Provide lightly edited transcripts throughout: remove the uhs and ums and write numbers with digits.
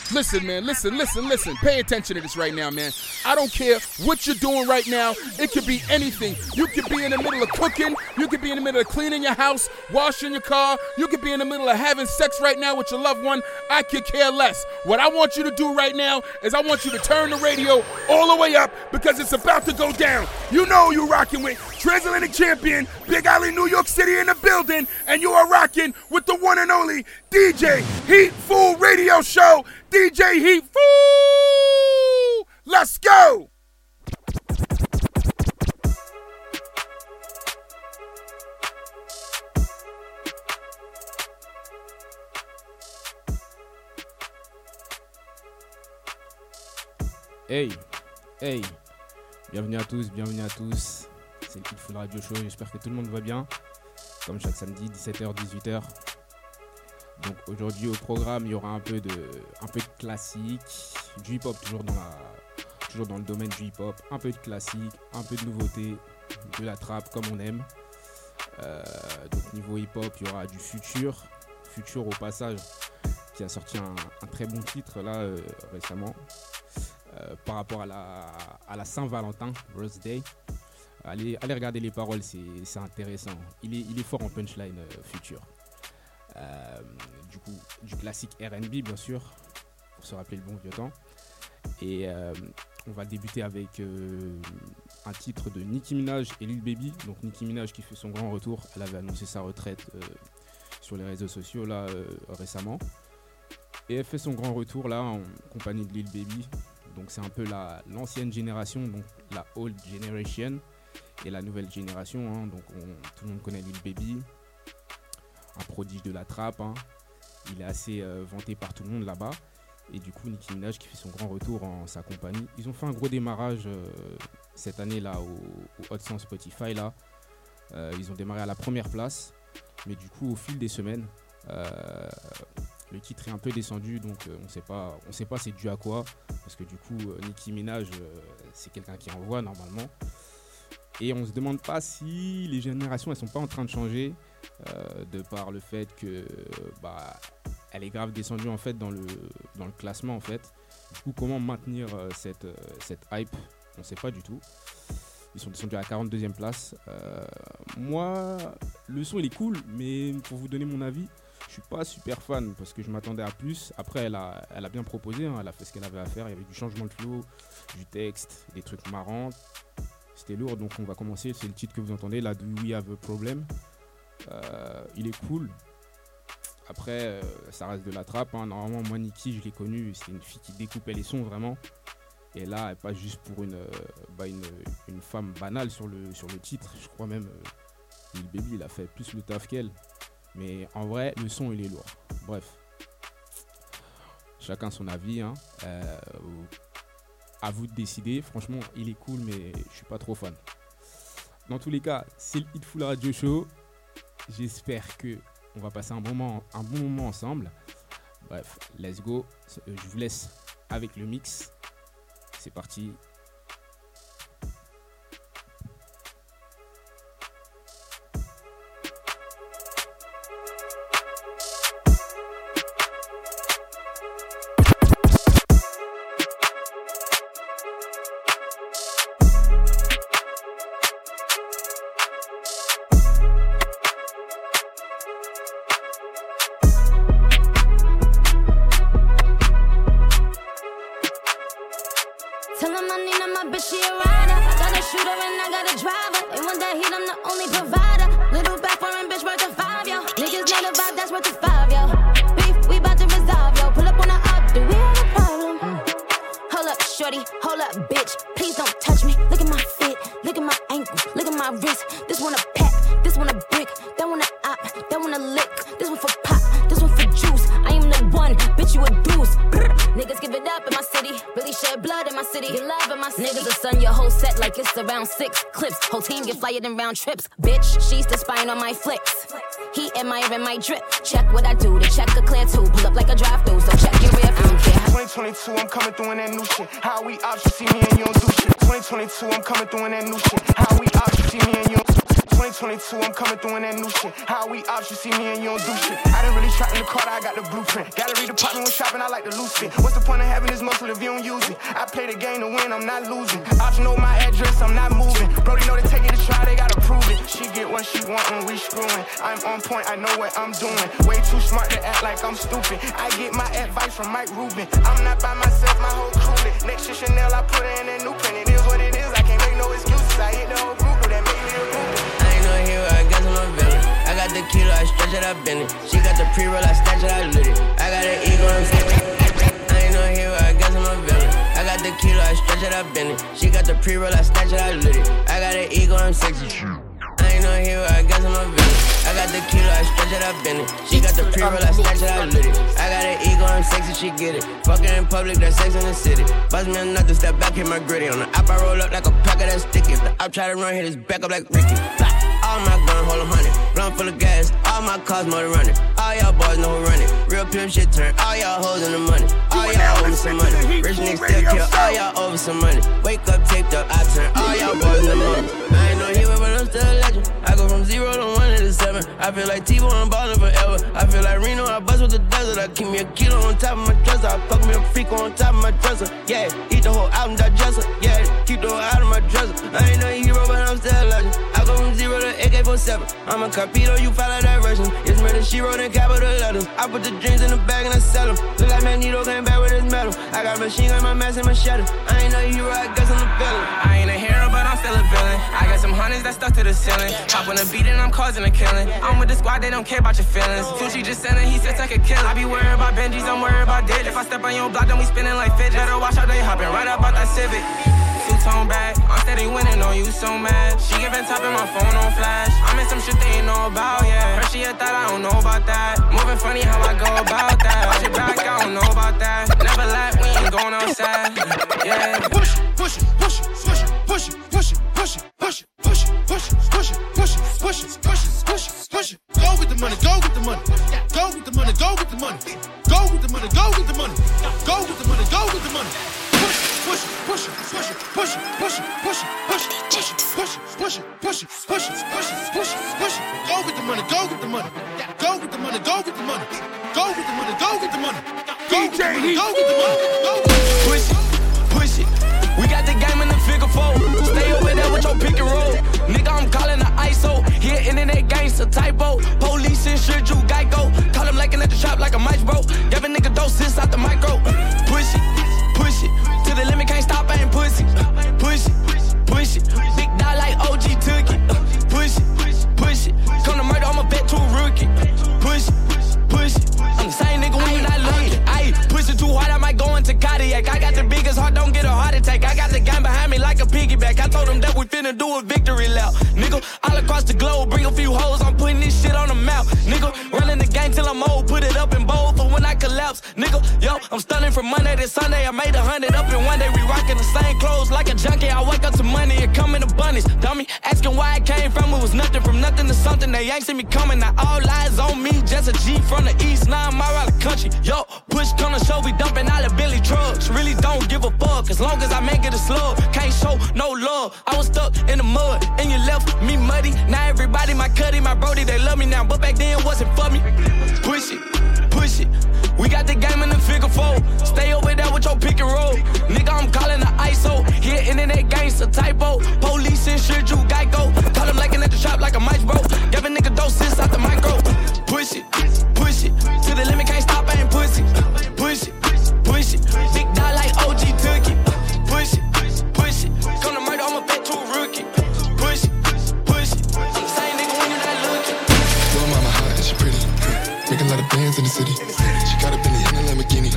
Listen, man, listen. Pay attention to this right now, man. I don't care what you're doing right now. It could be anything. You could be in the middle of cooking. You could be in the middle of cleaning your house, washing your car. You could be in the middle of having sex right now with your loved one. I could care less. What I want you to do right now is I want you to turn the radio all the way up because it's about to go down. You know who you're rocking with. Transatlantic champion, Big Alley, New York City in the building, and you are rocking with the one and only DJ Heat Fool Radio Show. DJ Heat Fool! Let's go! Hey, bienvenue à tous, c'est le Heat Fool Radio Show, j'espère que tout le monde va bien, comme chaque samedi, 17h, 18h. Donc aujourd'hui au programme, il y aura un peu de classique, du hip-hop toujours dans le domaine du hip-hop, un peu de classique, un peu de nouveauté, de la trap comme on aime. Donc niveau hip-hop, il y aura du Future au passage, qui a sorti un très bon titre là récemment. Par rapport à la Saint-Valentin, Rose Day. Allez regarder les paroles, c'est intéressant. Il est fort en punchline, Future. Du coup, du classique R&B, bien sûr, pour se rappeler le bon vieux temps. Et on va débuter avec un titre de Nicki Minaj et Lil Baby. Donc Nicki Minaj qui fait son grand retour. Elle avait annoncé sa retraite sur les réseaux sociaux là récemment. Et elle fait son grand retour là en compagnie de Lil Baby. Donc c'est un peu l'ancienne génération, donc la old generation et la nouvelle génération. Hein. Donc tout le monde connaît Lil Baby, un prodige de la trap. Hein. Il est assez vanté par tout le monde là-bas. Et du coup Nicki Minaj qui fait son grand retour en sa compagnie. Ils ont fait un gros démarrage cette année là au Hot 100 Spotify là. Ils ont démarré à la première place, mais du coup au fil des semaines. Le titre est un peu descendu, donc on sait pas c'est dû à quoi, parce que du coup Nicki Minaj c'est quelqu'un qui envoie normalement, et on se demande pas si les générations elles sont pas en train de changer de par le fait que elle est grave descendue en fait dans le classement en fait. Du coup comment maintenir cette hype, on sait pas du tout. Ils sont descendus à la 42e place. Moi le son il est cool, mais pour vous donner mon avis, je suis pas super fan parce que je m'attendais à plus. Après, elle a bien proposé, hein, elle a fait ce qu'elle avait à faire. Il y avait du changement de flow, du texte, des trucs marrants. C'était lourd, donc on va commencer. C'est le titre que vous entendez, là, Do We Have a Problem. Il est cool. Après, ça reste de la trappe. Hein. Normalement, moi, Nicki, je l'ai connue. C'était une fille qui découpait les sons vraiment. Et là, elle passe juste pour une femme banale sur le titre. Je crois même Lil Baby, il a fait plus le taf qu'elle. Mais en vrai, le son, il est lourd. Bref. Chacun son avis. Hein. À vous de décider. Franchement, il est cool, mais je suis pas trop fan. Dans tous les cas, c'est le Heat Fool Radio Show. J'espère qu'on va passer un bon moment ensemble. Bref, let's go. Je vous laisse avec le mix. C'est parti. Tell him I need him, my bitch, she a rider. Got a shooter and I got a driver. They want that heat, I'm the only provider. Little back foreign bitch worth a 5, yo. Niggas know the vibe, that's worth a 5, yo. Beef, we bout to resolve, yo. Pull up on the up, do we have a problem? Hold up, shorty, hold up, bitch. Please don't touch me. Look at my feet, look at my ankle, look at my wrist. This one a pack, this one a brick. That one a op, that one a lick. This one for pop, this one for juice. I am the one, bitch, you a deuce. Niggas give it up in my city. Really shed blood in my city. Get love in my city. Niggas will stun your whole set like it's around 6 clips. Whole team get flyer than round trips. Bitch, she's the spying on my flicks. He admiring my drip. Check what I do. The check a clear too. Pull up like a drive-through. So check your rear. I don't care. 2022, I'm coming through in that new shit. How we ops, you see me and you don't do shit. 2022, I'm coming through in that new shit. How we ops, you see me and you don't. 2022, I'm coming through in that new shit. How we ops, you see me and you don't do shit. I didn't really try in the car, I got the blueprint. Gallery department when shopping, I like to lose it. What's the point of having this muscle if you don't use it? I play the game to win, I'm not losing. Ops know my address, I'm not moving. Brody know they take it to try, they gotta prove it. She get what she want when we screwing. I'm on point, I know what I'm doing. Way too smart to act like I'm stupid. I get my advice from Mike Rubin. I'm not by myself, my whole crew lit. Next to Chanel, I put her in that new print. It is what it is, I can't make no excuses. I hit the whole group, that made me a group. I ain't no hero, I guess I'm a villain. I got the kilo, I stretch it, I bend it. She got the pre-roll, I snatch it, I lit it. I got an ego, I'm saying. I ain't no hero, I guess I'm a villain. I got the kilo, I stretch it, I bend it. She got the pre-roll, I snatch it, I lit it. I got an ego, I'm sexy. I ain't no hero, I guess I'm a villain. I got the kilo, I stretch it, I bend it. She got the pre-roll, I snatch it, I lit it. I got an ego, I'm sexy, she get it. Fucking in public, that's sex in the city. Bust me another step back, hit my gritty. On the app, I roll up like a pack of that sticky. If the op try to run, hit his back up like Ricky. All my gun, hold 100. Blunt full of gas, all my cars motor running. All y'all boys know who run it. Real pimp shit turn, all y'all hoes in the money. All y'all owe me some money. Rich niggas still kill, all y'all over some money. Wake up, taped up, I turn, all y'all boys in the money. I ain't no hero, but I'm still a legend. I go from 0 to 1 to 7. I feel like T-Bo, I'm ballin' forever. I feel like Reno, I bust with the desert. I keep me a kilo on top of my dresser. I fuck me a freak on top of my dresser. Yeah, eat the whole album, digest her. Yeah, keep the whole out of my dresser. I ain't no hero, but I'm still a legend. I go from 0 to AK-47. I'm a Carpito, you follow directions. It's murder, she wrote in capital letters. I put the dreams in the bag and I sell them. Look like Magneto came back with his medal. I got a machine gun, my mask and my shadow. I ain't no hero, I guess I'm a villain. I ain't a hero, but I'm still a villain. I got some hundreds that stuck to the ceiling. Hop on the beat and I'm causing a killing. I'm with the squad, they don't care about your feelings. Fuji just sent it, he said take a kill. I be worried about Benjis, I'm worried about Did. If I step on your block, then we spinning like fidget. Better watch out, they hopping right up out that Civic. Two-tone back, I'm steady winning on you so mad. She giving top in my phone on flash. I'm in some shit they ain't know about, yeah. Her she a thought, I don't know about that. Moving funny how I go about that. Watch it back, I don't know about that. Never lie, we ain't going outside, yeah. Push it, push it, push it, push it, push it, push it, push it, push it, push it, push it, push it, push it, push it, push it, push it, push it. Go with the money, go with the money. Go with the money, go with the money. Go with the money, go with the money. Go with the money, go with the money. Push it, push it, push it, push it, push it, push it, push it, push it, push it, push it, push it, push it, push it, push it, push it. Go with the money, go with the money. Go with the money, go with the money. Go with the money, go with the money. Go with the money, go with the money. Push it, push it. We got the game in the figure four. Stay over there with your pick and roll. Nigga, I'm calling the ISO. Here, internet gangster typo. Police insured you, Geico. Call him like at the trap like a mic bro. Give a nigga doses out the micro. Push it, push it. To the limit, can't stop, I ain't pussy. Push it, push it. Big dog like OG took it. Push it, push it. Come to murder, I'ma bet to a rookie. Push it, push it. I'm the same nigga when you not looking. Ayy, push it too hard, I might go into cardiac. I got the biggest heart, don't get a heart attack. I got the gang behind me like a piggyback. I told them that we finna do a victory lap. Nigga, all across the globe, bring a few hoes. I'm putting this shit on the map. Nigga, running the game till I'm old. Put it up in bold for when I collapse. Nigga, yo, I'm stunning from Monday to Sunday. I made 100 up in one day. We rockin' the same clothes like a junkie. I wake up to money and come in abundance. Dummy, asking why I came from. It was nothing from nothing to something. They ain't see me coming. Now all eyes on me. Just a G from the east, 9 mile out the country. Yo, push come to show. We dumping all the Billy trucks. Really don't give a fuck. As long as I make it a slug. Can't show no love. I was stuck in the mud and you left me muddy. Now everybody my cutty, my brody, they love me now. But back then it wasn't for me. Push it, push it. We got the game in the figure four. Stay over there with your pick and roll. Nigga, I'm calling the ISO. Here, internet gangster typo. Police insured you, Geico. Call him like at the trap like a mic bro. Give a nigga doses out the micro. Push it, push it. To the limit, can't stop, I ain't pussy. Push it, push it. Big dog like OG took it. Push it, push it. Come to murder, I'ma bet to a rookie. Push it, push it. I'm the same nigga when you not looking. Little mama hot and she pretty. Making a lot of bands in the city. She got a Bentley and a Lamborghini.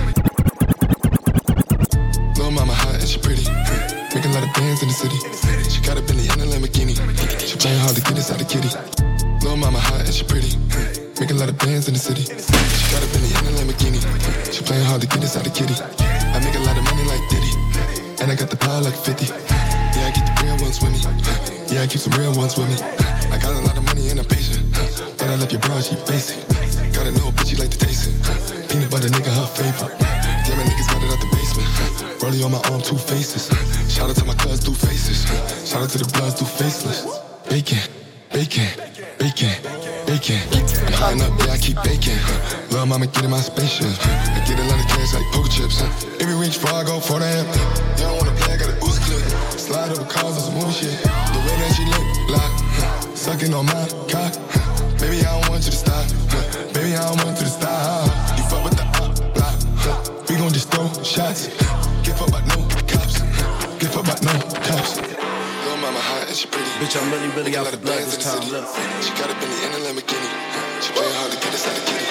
Little mama hot and she pretty. Making a lot of bands in the city. She got a Bentley and a Lamborghini. She playing hard to get us out of kitty. Little mama hot and she pretty. Making a lot of bands in the city. She got a Bentley and a Lamborghini. She playing hard to get us out of kitty. I make a lot of money like Diddy. And I got the power like 50. Yeah, I get the real ones with me. Yeah, I keep some real ones with me. I got a lot of money and I'm patient. But I left your bra, she basic. Gotta know a bitch, she like to taste it. Peanut butter nigga, her favorite. Yeah, my niggas got it out the basement. Rollie on my arm, 2 faces. Shout out to my cuz, 2 faces. Shout out to the bloods, 2 faceless. Bacon, bacon, bacon, bacon. I'm high up, yeah, I keep baking. Lil' mama get in my spaceship. I get a lot of cash like poker chips. Every reach before I go for the amp. You don't wanna play, I got a boost clip. Slide over cars on some movie shit. The way that she look like, sucking on my cock. Baby, I don't want you to stop. Baby, I don't want you to stop. You fuck with the block. We gon' just throw shots. Give up about no cops. Give up about no cops. Lil' mama hot and she pretty. Bitch, I'm really out for blood this time. Look. She got a Bentley and a Lamborghini. She play hard to get us out of kitty.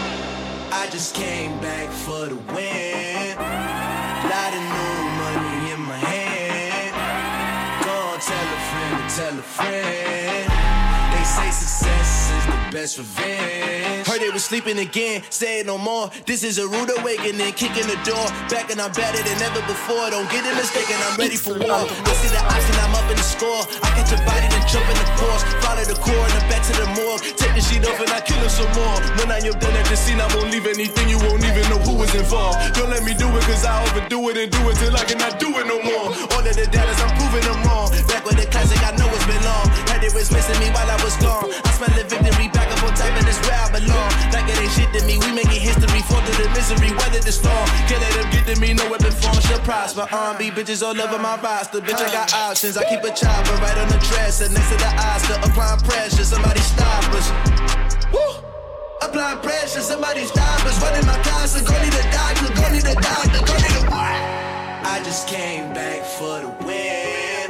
I just came back for the win. Lot of new money in my hand. Go on, tell a friend. They say success is the best revenge. Heard they was sleeping again, say it no more. This is a rude awakening, kicking the door. Back and I'm better than ever before. Don't get it mistaken, I'm ready for war. I see the option, I'm up in the score. I get your body, then jump in the course. Follow the core and the back to the morgue. Take the sheet off and I kill him some more. When I am done at the scene, I won't leave anything. You won't even know who was involved. Don't let me do it, cause I overdo it and do it till I cannot do it no more. All of the doubters, I'm proving them wrong. Back with the classic, I know it's been long. Had it was missing me while I was gone. I smell the victory, back up on top, and it's where I belong. Like it ain't shit to me, we making history. Fall through the misery, weather the storm. Can't let them get to me, no weapon form shall prosper. R&B bitches all over my roster. Bitch, I got options, I keep a chopper right on the dresser. Next to the Oscar, applying pressure, somebody stop us. Woo! Applying pressure, somebody stop us. Running my casa, go need a doctor, go need a doctor, go need a what? I just came back for the win.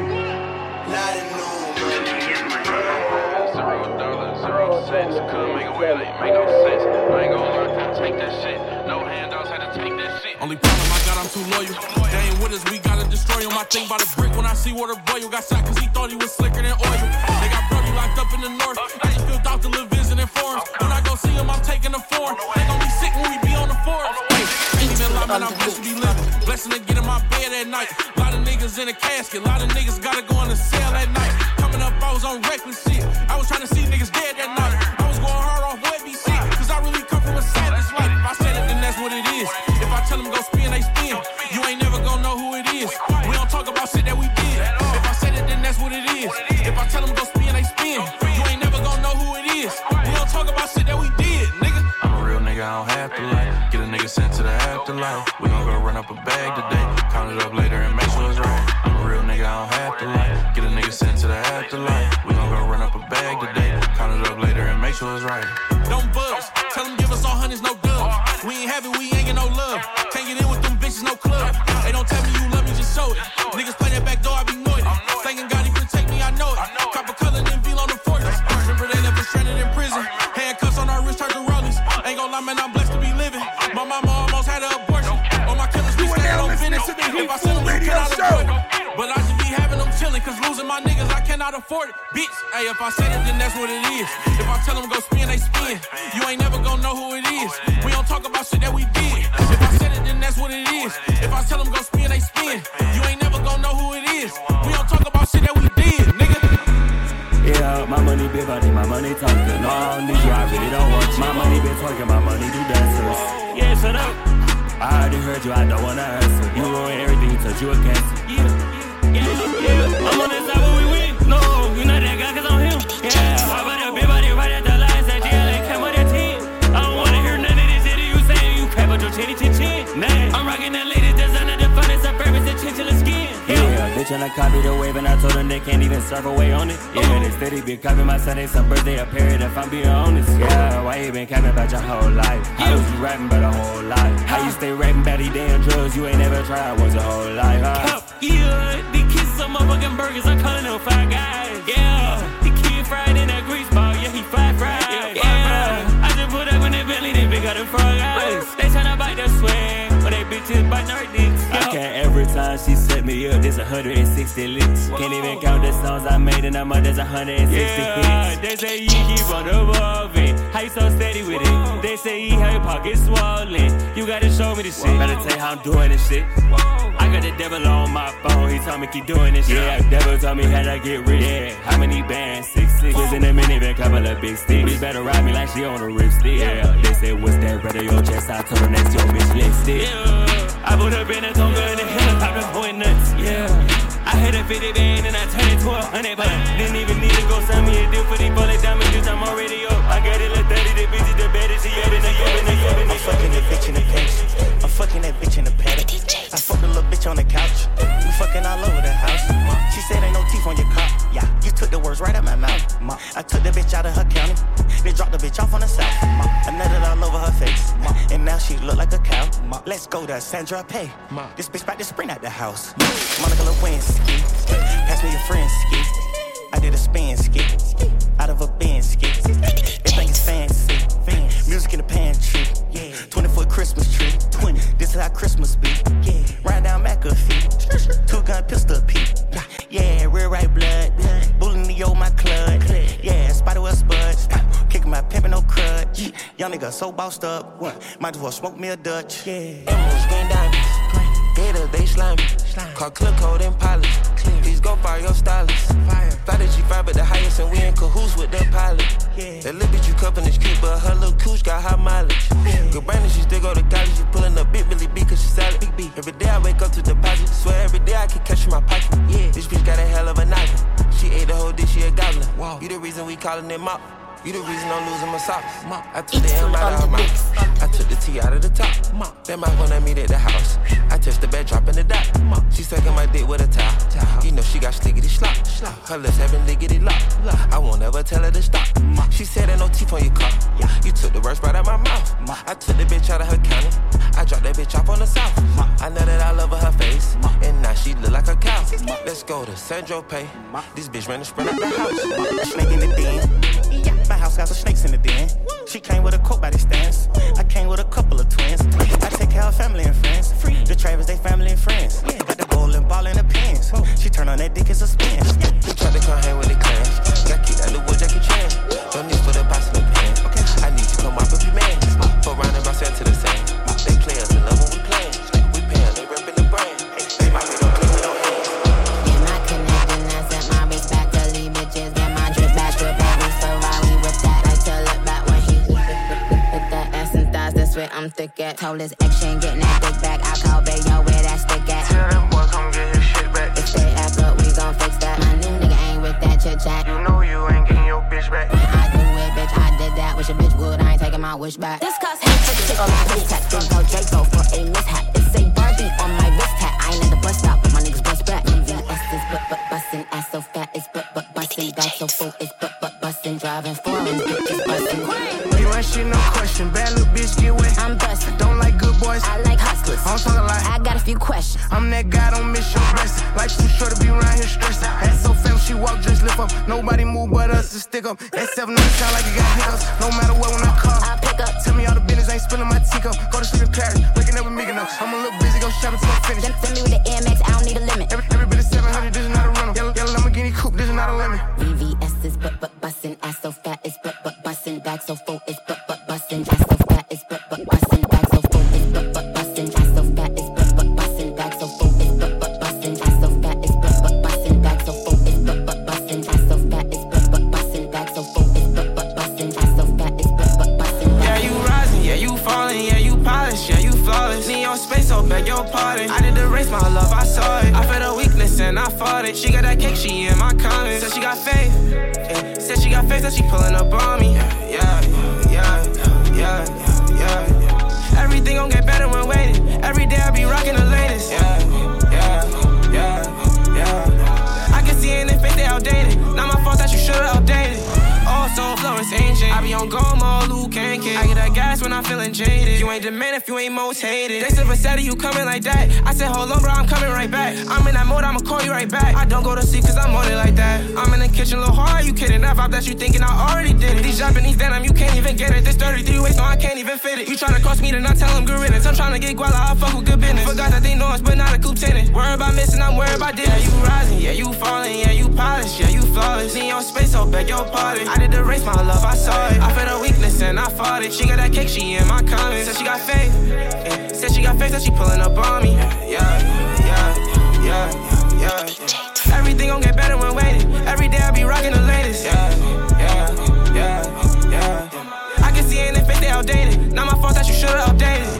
Lot of new money in my hand. $0, 0 cents. Couldn't make a way, like, make no sense. I ain't gon' lie, couldn't take that shit. No handouts, had to take that shit. Only problem I got, I'm too loyal. They ain't with us, we gotta destroy him. I think by the brick when I see Water Boy got shot cause he thought he was slicker than oil. They got Brody locked up in the north. I just feel Dr. Lil visiting forums. When I go see him, I'm taking the form. They gon' be sick when we be on the forums. Ain't even lie, man, I'm blessed to be living. Blessing to get in my bed at night. Lot of niggas in a casket. Lot of niggas gotta go on the cell at night. Coming up, I was on reckless shit. I was trying to see niggas dead that night. I was going hard off webby shit. Cause I really come from a savage life. If I said it, then that's what it is. If I tell them go spin, they spin. You ain't never gonna know who it is. We don't talk about shit that we did. If I said it, then that's what it is. If I tell them go spin, they spin. You ain't never gonna know who it is. We don't talk about shit that we did, nigga. I'm a real nigga, I don't have to lie. Get a nigga sent to the afterlife. We gon' go run up a bag today. Count it up later and make sure it's right. I'm a real nigga, I don't have to lie. Get a nigga sent to the afterlife. We gon' go run up a bag today. Count it up later and make sure it's right. Don't buzz. Tell them give us all hundreds, no dubs. We ain't have it, we ain't get no love. Can't get in with them bitches, no club. They don't tell me you love me, just show it. Niggas play that back door, I be noided. Thanking God he protect me, I know it. Copper color, then feel on the fortress. Remember they left us stranded in prison. Handcuffs on our wrist, turned to rollies. Ain't gon' lie, man, I'm blessed to be living. My mama almost had an abortion. All my killers be staying on finish. If I send them, you cannot avoid it. But I just be having them chilling, cause losing my niggas, I cannot afford it. Bitch, hey, if I said it, then that's what it is. If I tell them go spin, they spin. You ain't never gonna know who it is. We don't talk about shit that we did. If I said it, then that's what it is. If I tell them go spin, they spin. You ain't never gonna know who it is. We don't talk about shit that we did, nigga. Yeah, my money big body, my money talking. No, I don't need you, I really don't want you. My money been twerking, my money do dancers. Yeah, shut up. I already heard you, I don't wanna answer. You ruin everything, touch you a cancer. Yeah. I'm on this side where we win. No, you not that guy, cause I'm him. Yeah, why about that big body right at the lines at GLA, came with that 10. I don't wanna hear none of this shit you saying. You crap with your chinny chin chin. Nah, I'm rocking that latest designer, the finest of purpose and chinchilla skin. Yeah, they tryna copy the wave and I told them they can't even surf away on it. Yeah, they steady been copying my Sunday, some birthday, a period if I'm being honest. Yeah, why you been capping about your whole life? How was you rapping about a whole life? How you stay rapping about these damn drugs you ain't never tried once your whole life? Yeah, these kids some motherfucking burgers, I'm calling them Five Guys. Yeah, the kid fried in that grease ball, yeah, he fried. Yeah, I just put up in that belly, they big got the frog eyes. They tryna bite their swag, but they bitches biting our dicks. I can't every time she set me up, there's 160 licks. Can't even count the songs I made in a month, there's 160 hits. They say you keep on evolving, how you so steady with it? They say you have your pockets swollen, you gotta show me the shit. Better tell you how I'm doing this shit. I got the devil on my phone, he told me keep doing this shit. Yeah, devil told me how to get rich. Yeah, how many bands? 6 was in a minivan, couple of big sticks. Bitch better ride me like she on a ripstick. Yeah, they say what's that red on your chest? I told her next your bitch lipstick. Yeah, I put her in a tongue in the helicopter going nuts. Yeah, I had Hit a 50 band and I turn it to 100, but didn't even need to go send me a deal for these bullet diamonds, bitch, I'm already up. I got it like 30, the bitch is the baddest, she ever I'm fucking that bitch in the pants. I'm fucking that bitch in the paddock. I fucked a little bitch on the couch. We fucking all over the house. She said ain't no teeth on your cock. Yeah, you took the words right out my mouth. I took the bitch out of her county. They dropped the bitch off on the south. I nutted all over her face. And now she look like a cow. Let's go to Sandra Pay. This bitch about to sprint out the house. Monica Lewinsky. Pass me your friend ski. I did a spin ski. Out of a bin ski. This thing is fancy. Music in the pantry. 20-foot Christmas tree. This is how Christmas be. Ride down McAfee. 2-gun pistol P. Yeah, rear right blood. Bullying the old my club. Yeah, Spider-Well Spud. Kicking my pimpin' no crutch. Young nigga so bossed up. Might as well smoke me a Dutch. Emeralds, green diamonds. Gators, they slimy. Call clip code and polish. Please go fire your stylist. Fly the G5 at the highest and we in cahoots with the pilot. That little bitch you cuffin' is cute, but her little cooch got high mileage. Good Brandon, she still go to college. She pullin' up big Billy B cause she solid. Every day I wake up to deposit. Swear every day I can catch in my pocket. This bitch got a hell of a noggin. She ate the whole dish, she a goblin. You the reason we callin' it mop. You the reason I'm losing my socks. I took the M out of her mouth. I took the T out of the top. That mouth when I meet at the house. I touched the bed, dropping the dot. She sucking my dick with a towel. You know she got slickety slop. Her lips having lickety lock. I won't ever tell her to stop. She said ain't no teeth on your car. You took the words right out my mouth. I took the bitch out of her county. I dropped that bitch off on the south. I know that I love her face. And now she look like a cow. Let's go to Sandra Pay. This bitch ran to sprint out the house. Snake in the den. My house got some snakes in the den. She came with a coat by the stands. I came with a couple of twins. I take care of family and friends. The Travers, they family and friends. Got the bowling ball in the pants. She turn on that dick, it's a spin. You tried to come hang with the clans. Got kicked out the wood, Jackie Chan. No need for the box in the pan. I need you to come up with your man. For round and bounce to the same. They play us in love when we play. We pay them, they reppin' the brand. They might be don't click with no hands. Get my connecting, I sent my bitch back to leave bitches. Get my drip back, drip back. Ferrari with that, I tell it back when he with that ass and thighs, that's where I'm thick at. Told his ex she ain't getting that dick back. I call Bayo where that stick at. Tell them boy come get his shit back. If they act up, we gon' fix that. My new nigga ain't with that chit chat. You know you ain't getting your bitch back. When I do it, bitch, I did that. Wish a bitch would, I ain't taking my wish back. This cause hate for the chick on my wrist tap. Then go Draco for a mishap. It's a Barbie on my wrist tap. I ain't at the bus stop, but my niggas bust back. VVS is but bustin', ass so fat, it's but bustin', back so full, it's but bustin', driving foreign, bitches bustin'. You ain't shit, no question. Bad little bitch, get wet. I'm bustin'. Don't like good boys. I like hustlers. I'm talking like I got a few questions. I'm that guy, don't miss your blessing. Like too short to be around here stressed. Ass so fam, she walk, just lift up. Nobody move but us to stick up. That 7 sound like you got hiccups. No matter what, when I call, I pick up. Tell me all the business, ain't spilling my teacup. Go to sleep in Paris, waking up with Mykonos. I'm a little busy, go shopping till I'm finished. Send me with the AMX, I don't need a limit. Every bit of 700, this is not a rental. Yellow Lamborghini coupe, this is not a limit. VVS is but bustin', ass so fat, it's but bustin', back so full, it's but bustin', ass so fat, it's but bustin', back so full, it's but bustin', ass so fat, it's but bustin', back so full, it's but bustin', ass so fat, it's but bustin', back so full, it's but bustin', ass so fat, it's but bustin', back so full, it's but bustin', ass so fat, it's but bustin'. Yeah, you rising, yeah, you falling, yeah, you polished, yeah, you flawless. Need your space, so beg your pardon. I did the race, my love, I saw it. I felt a weakness and I fought it. She got that cake, she in my comments. Said she got faith, yeah. Said she got faith, that she pulling up on me. Yeah. Everything gon' get better when waiting. Every day I be rocking the latest. Yeah. I can see it in their face, they outdated. Not my fault that you should've updated. Oh, so Florence ancient. I be on go mode, Luke can't kick. I get that gas when I'm feeling jaded. You ain't the man if you ain't most hated. They said Versetti, you coming like that. I said, hold on, bro, I'm coming right back. I'm in that mode, I'ma call you right back. I don't go to sleep cause I'm on it like that. I'm in the kitchen, little hard, you kidding? That vibe that you thinking I already did it. These Japanese denim, you can't even get it. This 33 waist, no, I can't even fit it. You tryna cross me, then I tell them good riddance. I'm tryna get guala, I fuck with good business. Forgot that they know us, but not a coupe tenant. Worry about missing, I'm worried about this. Yeah, you rising, yeah, you falling, yeah, you polished, yeah, you flawless. Need your space, so beg your pardon. I did the race, my love, I saw it. I felt a weakness and I fought it. She got that cake, she in my comments. Said she got faith, yeah. Said she got faith, that she pulling up on me. Yeah. Everything gon' get better when waiting. Every day I be rocking the latest. Yeah. I can see it in their face, they outdated. Not my fault that you should've updated.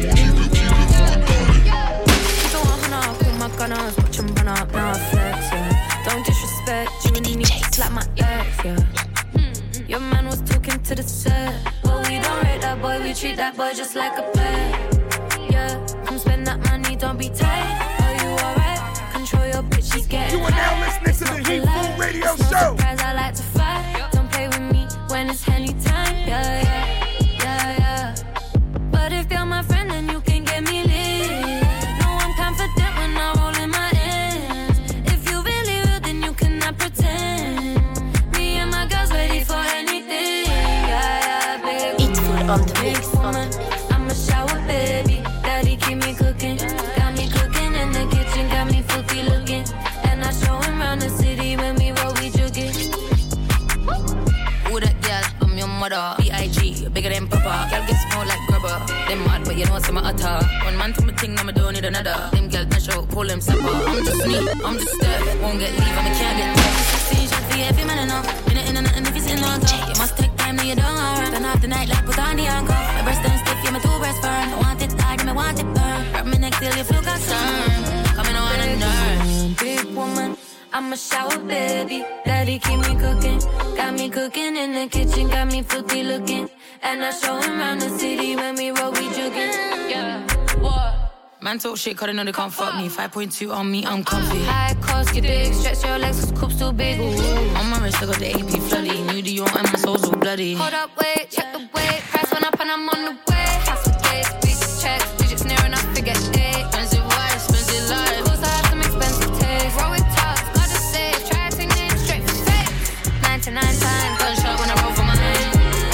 Gunners, watch them run up, now I flex, yeah. Don't disrespect, you really need to slap my legs, yeah. Your man was talking to the set, but we don't rate that boy, we treat that boy just like a pet, yeah. Come spend that money, don't be tight, are you alright? Control your bitch, she's getting You are now listening to the Heat Food Radio it's no Show. Surprise, I like to fight, don't play with me when it's Henny time, yeah, yeah, yeah, yeah. But if you're my friend, then you can get me lit. No, I'm confident when I roll in my ends. If you really real, then you cannot pretend. Me and my girls ready for anything. Yeah, yeah, baby. Eat food on the mix, woman, I'm a shower baby. Daddy keep me cooking, got me cooking in the kitchen, got me filthy looking. And I show him around the city when we roll, we jugging. Who that girl? I'm your mother. B.I.G. bigger than Papa. Girl gets small like grubber. Them mad, but you know what's in my utter. One man to my thing, now I don't need another. Them girls not show, call them supper. I'm just me, I'm just there. Won't get leave, I can't get there. 16 shots for every man enough. Minute in and nothing if it's in on top. You must take time, now you don't run. Turn off the night light, put on the anchor. My breast them stiff, yeah, my two breasts firm. I want it hard, I want it burn. Rub me neck till you feel concerned. Coming on a nurse. Big woman, I'm a shower baby. Daddy keep me cooking, got me cooking in the kitchen, got me filthy looking. And I show him around the city when we roll, we jugging. Yeah, what? Man talk shit, cause they know they can't fuck me. 5.2 on me, I'm comfy. High cost, get big, stretch your legs, cause coop's too big. Ooh. On my wrist, I got the AP floody. New Dior and my soul's all bloody. Hold up, wait, check the weight. Price went up and I'm on the way. House with cake, big checks, digits near enough to get shit. Expensive wife, expensive life. Also have some expensive taste. Roll with tops, gotta save. Try to take names straight for face. 99 times, gunshot when I roll for my hand.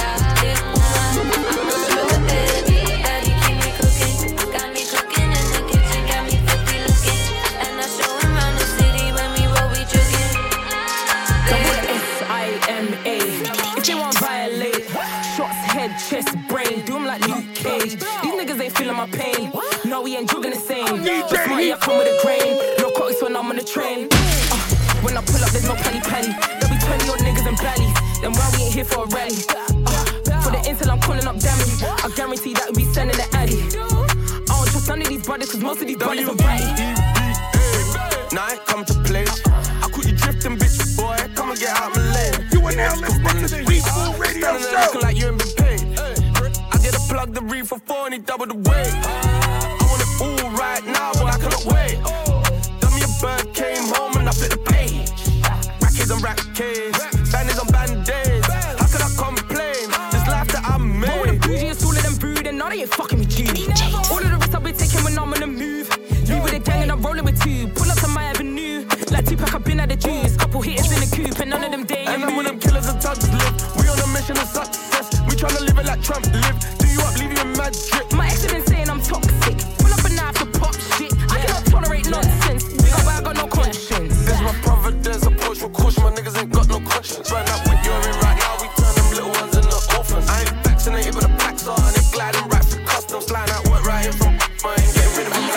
Chest, brain, do him like Luke Cage. These niggas ain't feeling my pain. No, we ain't jogging the same. That's why I come with a grain. No coats when I'm on the train. When I pull up, there's no penny. There'll be 20 odd niggas and bellies. Then why we ain't here for a rally? For the intel, I'm calling up damage. I guarantee that we be sending the addy. I don't trust none of these brothers, cause most of these brothers are ratty. Now I come to play. I caught you drifting, bitch, boy. Come and get out my lane. You are now listening to the Heat Food Radio Show. Looking like you ain't been paid. I did a plug the reef for 4 and he doubled the weight. I want it all right now, boy, I cannot wait. Done me a bird, came home and I flipped the page. Rackies and rackets, bandits on band-aids. How could I complain? This life that I made. But with the bougiest, all of them brood, and now they ain't fucking with you. All of the risks I've been taking when I'm on the move. Leave with a gang and I'm rolling with two. Pull up to my avenue. Like Tupac, I've been at the juice. Couple hitters in the coupe and none of them day. And none of them killers and thugs live. We on a mission of success. We tryna live it like Trump live. Do you up, leave you in mad drip. My ex has been saying I'm toxic. Pull up a knife to pop shit. I cannot tolerate nonsense. Big up, I got no conscience. This my providence, approach with caution. My niggas ain't got no conscience. Right now, with you're in right now, we turn them little ones into orphans. I ain't vaccinated, but the packs are and they gliding right through customs. Flying out work right here from mine. Getting rid of me.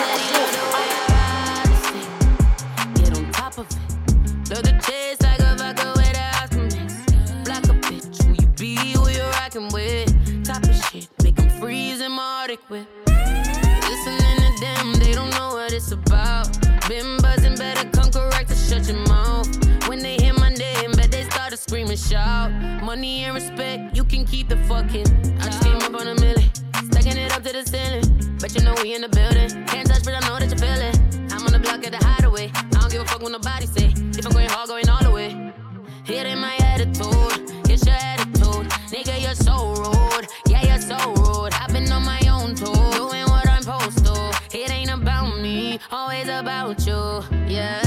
Load the chest like a vodka with a house mix. Black a bitch, who you be, who you rockin' with. Top of shit, make them freeze in my Arctic whip. Listening to them, they don't know what it's about. Been buzzing, better come correct to shut your mouth. When they hear my name, bet they start to scream and shout. Money and respect, you can keep the fucking. I just came up on a million, stacking it up to the ceiling. Bet you know we in the building, can't touch, but I know that you feel it. I'm on the block at the hideaway, I don't give a fuck what nobody say. If I'm going hard, going all the way. Hit in my attitude, it's your attitude. Nigga, you're so rude, yeah, you're so rude. I've been on my own too, doing what I'm supposed to. It ain't about me, always about you, yeah.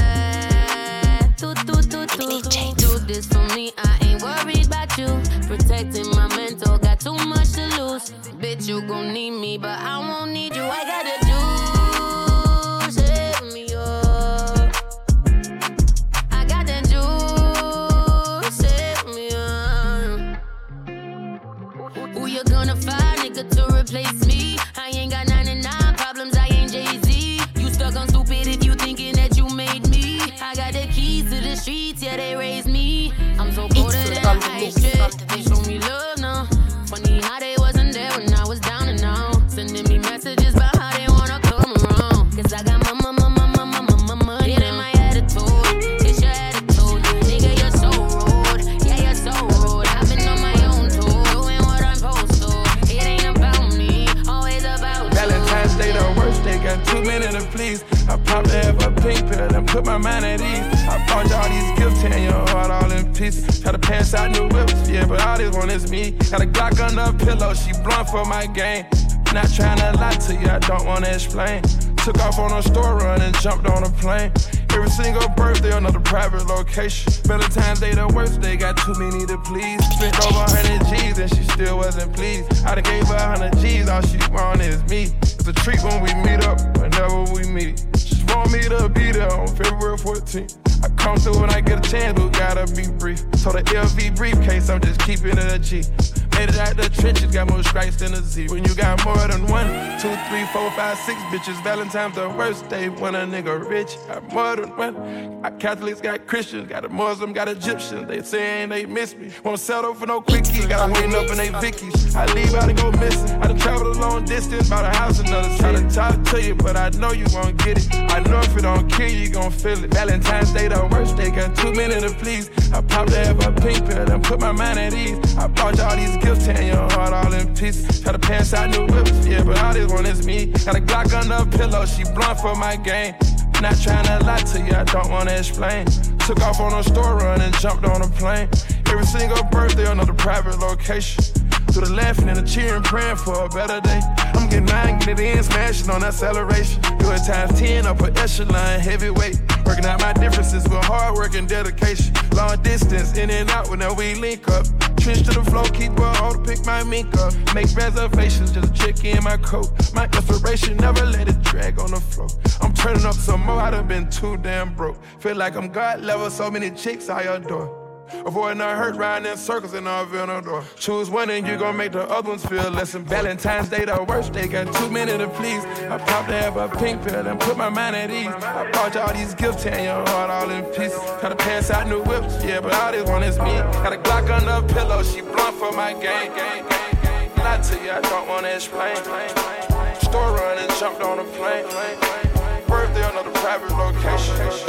Do this for me, I ain't worried about you. Protecting my mental, got too much to lose. Bitch, you gon' need me, but I won't need you. I gotta do. To replace me, I ain't got 99 problems, I ain't Jay-Z. You stuck on stupid if you thinking that you made me. I got the keys to the streets, yeah, they raised me. I'm so colder than ice strip. They show me love now. Funny how they wasn't there when I was down and out. Sending me messages by too many to please. I popped to have a pink pill and put my mind at ease. I bought you all these gifts, tearing your heart all in pieces. Try to pass out new whips, yeah, but all this one is me. Got a Glock under a pillow, she blunt for my game. Not trying to lie to you, I don't wanna explain. Took off on a store run and jumped on a plane. Every single birthday, another private location. Valentine's Day, the worst day, got too many to please. Spent over 100 G's and she still wasn't pleased. I done gave her 100 G's, all she want is me. It's a treat when we meet up, whenever we meet. She want me to be there on February 14th. I come through when I get a chance, but gotta be brief. So the LV briefcase, I'm just keeping it a G. Made it out the trenches, got more strikes than a Z. When you got more than 1, 2, 3, 4, 5, 6 bitches, Valentine's the worst day when a nigga rich. Got more than 1. Got Catholics, got Christians, got a Muslim, got Egyptians. They saying they miss me. Won't settle for no quickie, gotta wait up in they Vickies. I leave out and go missing. I done traveled a long distance, bought a house another city. Try to talk to you, but I know you won't get it. I know if it don't kill you, you gon' feel it. Valentine's Day, the worst day, got too many to please. I popped to have a pink pill and put my mind at ease. I bought you all these gifts, tearing your heart all in pieces. Try to pass out new whips, yeah, but all this one is me. Got a Glock under a pillow, she blunt for my game. Not trying to lie to you, I don't wanna explain. Took off on a store run and jumped on a plane. Every single birthday, another private location. To the laughing and the cheering, praying for a better day. I'm getting mine, getting it in, smashing on acceleration. Do it times 10, upper echelon, heavyweight. Working out my differences with hard work and dedication. Long distance, in and out whenever we link up. Trench to the floor, keep her on to pick my mink up. Make reservations, just check in my coat. My inspiration, never let it drag on the floor. I'm turning up some more, I done been too damn broke. Feel like I'm God level, so many chicks I adore. Avoiding the hurt, riding in circles in our door. Choose one and you gon' make the other ones feel less. And Valentine's Day, the worst day, got too many to please. I popped to have a pink pill and put my mind at ease. I bought you all these gifts, tearing your heart all in pieces. Try to pass out new whips, yeah, but all this one is me. Got a Glock under a pillow, she blunt for my game. Lie to you, I don't wanna explain. Store run and jumped on a plane. Birthday, another private location.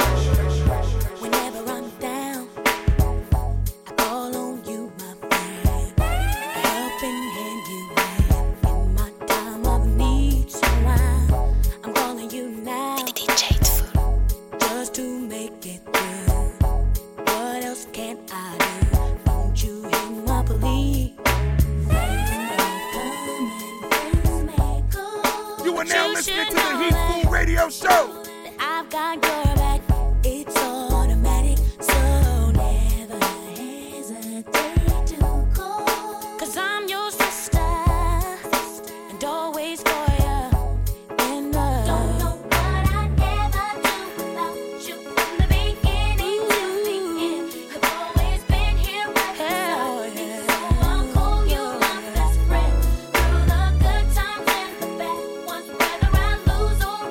Show. I've got your back, it's automatic, so never hesitate to call. 'Cause I'm your sister, and always for you. And don't know what I'd ever do without you from the beginning to the end. I've always been here right beside you, so I'll call you my best friend. Through the good times and the bad ones, whether I lose or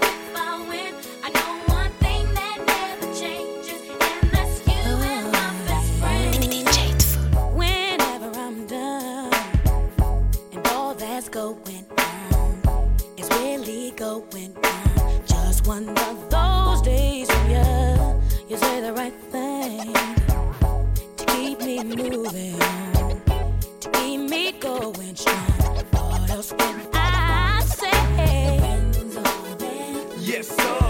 going on, it's really going on. Just one of those days when you say the right thing to keep me moving on, to keep me going strong. What else can I say? Yes, sir.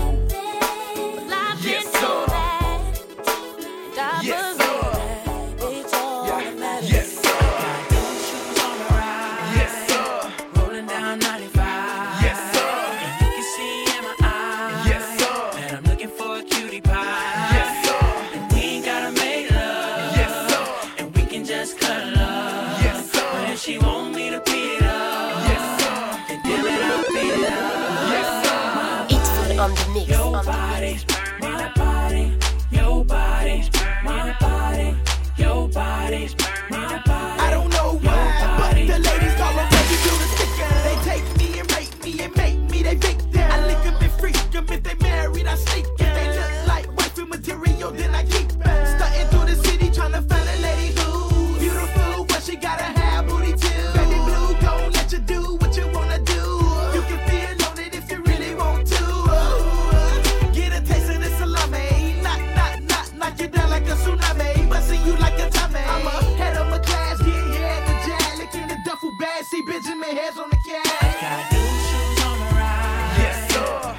Yes, sir. Yes, sir. It's all that matters. Yes, sir. She want me to beat it up. Yes, sir. And damn it, I'll beat it up. Yes, sir. It's food on the mix. Your body, my body. Your body, my body. Your body, my body. I don't know why, but the ladies call them baby do the sticker. They take me and rape me and make me they victim. I lick them and freak them if they married, I sneak them. They look like wifey material, then I keep them. Stunting through the city trying to find a lady who's beautiful, but she gotta have booty too. Baby blue, gon' let you do what you wanna do. You can feel on it if you really want to. Get a taste of this salami. Knock you down like a tsunami. Bustin' you like a tummy. I'm ahead of my class, get here at the jazz. Licking the duffel bag, see Benjamin heads on the cat. Got new shoes on the ride. Yes, sir.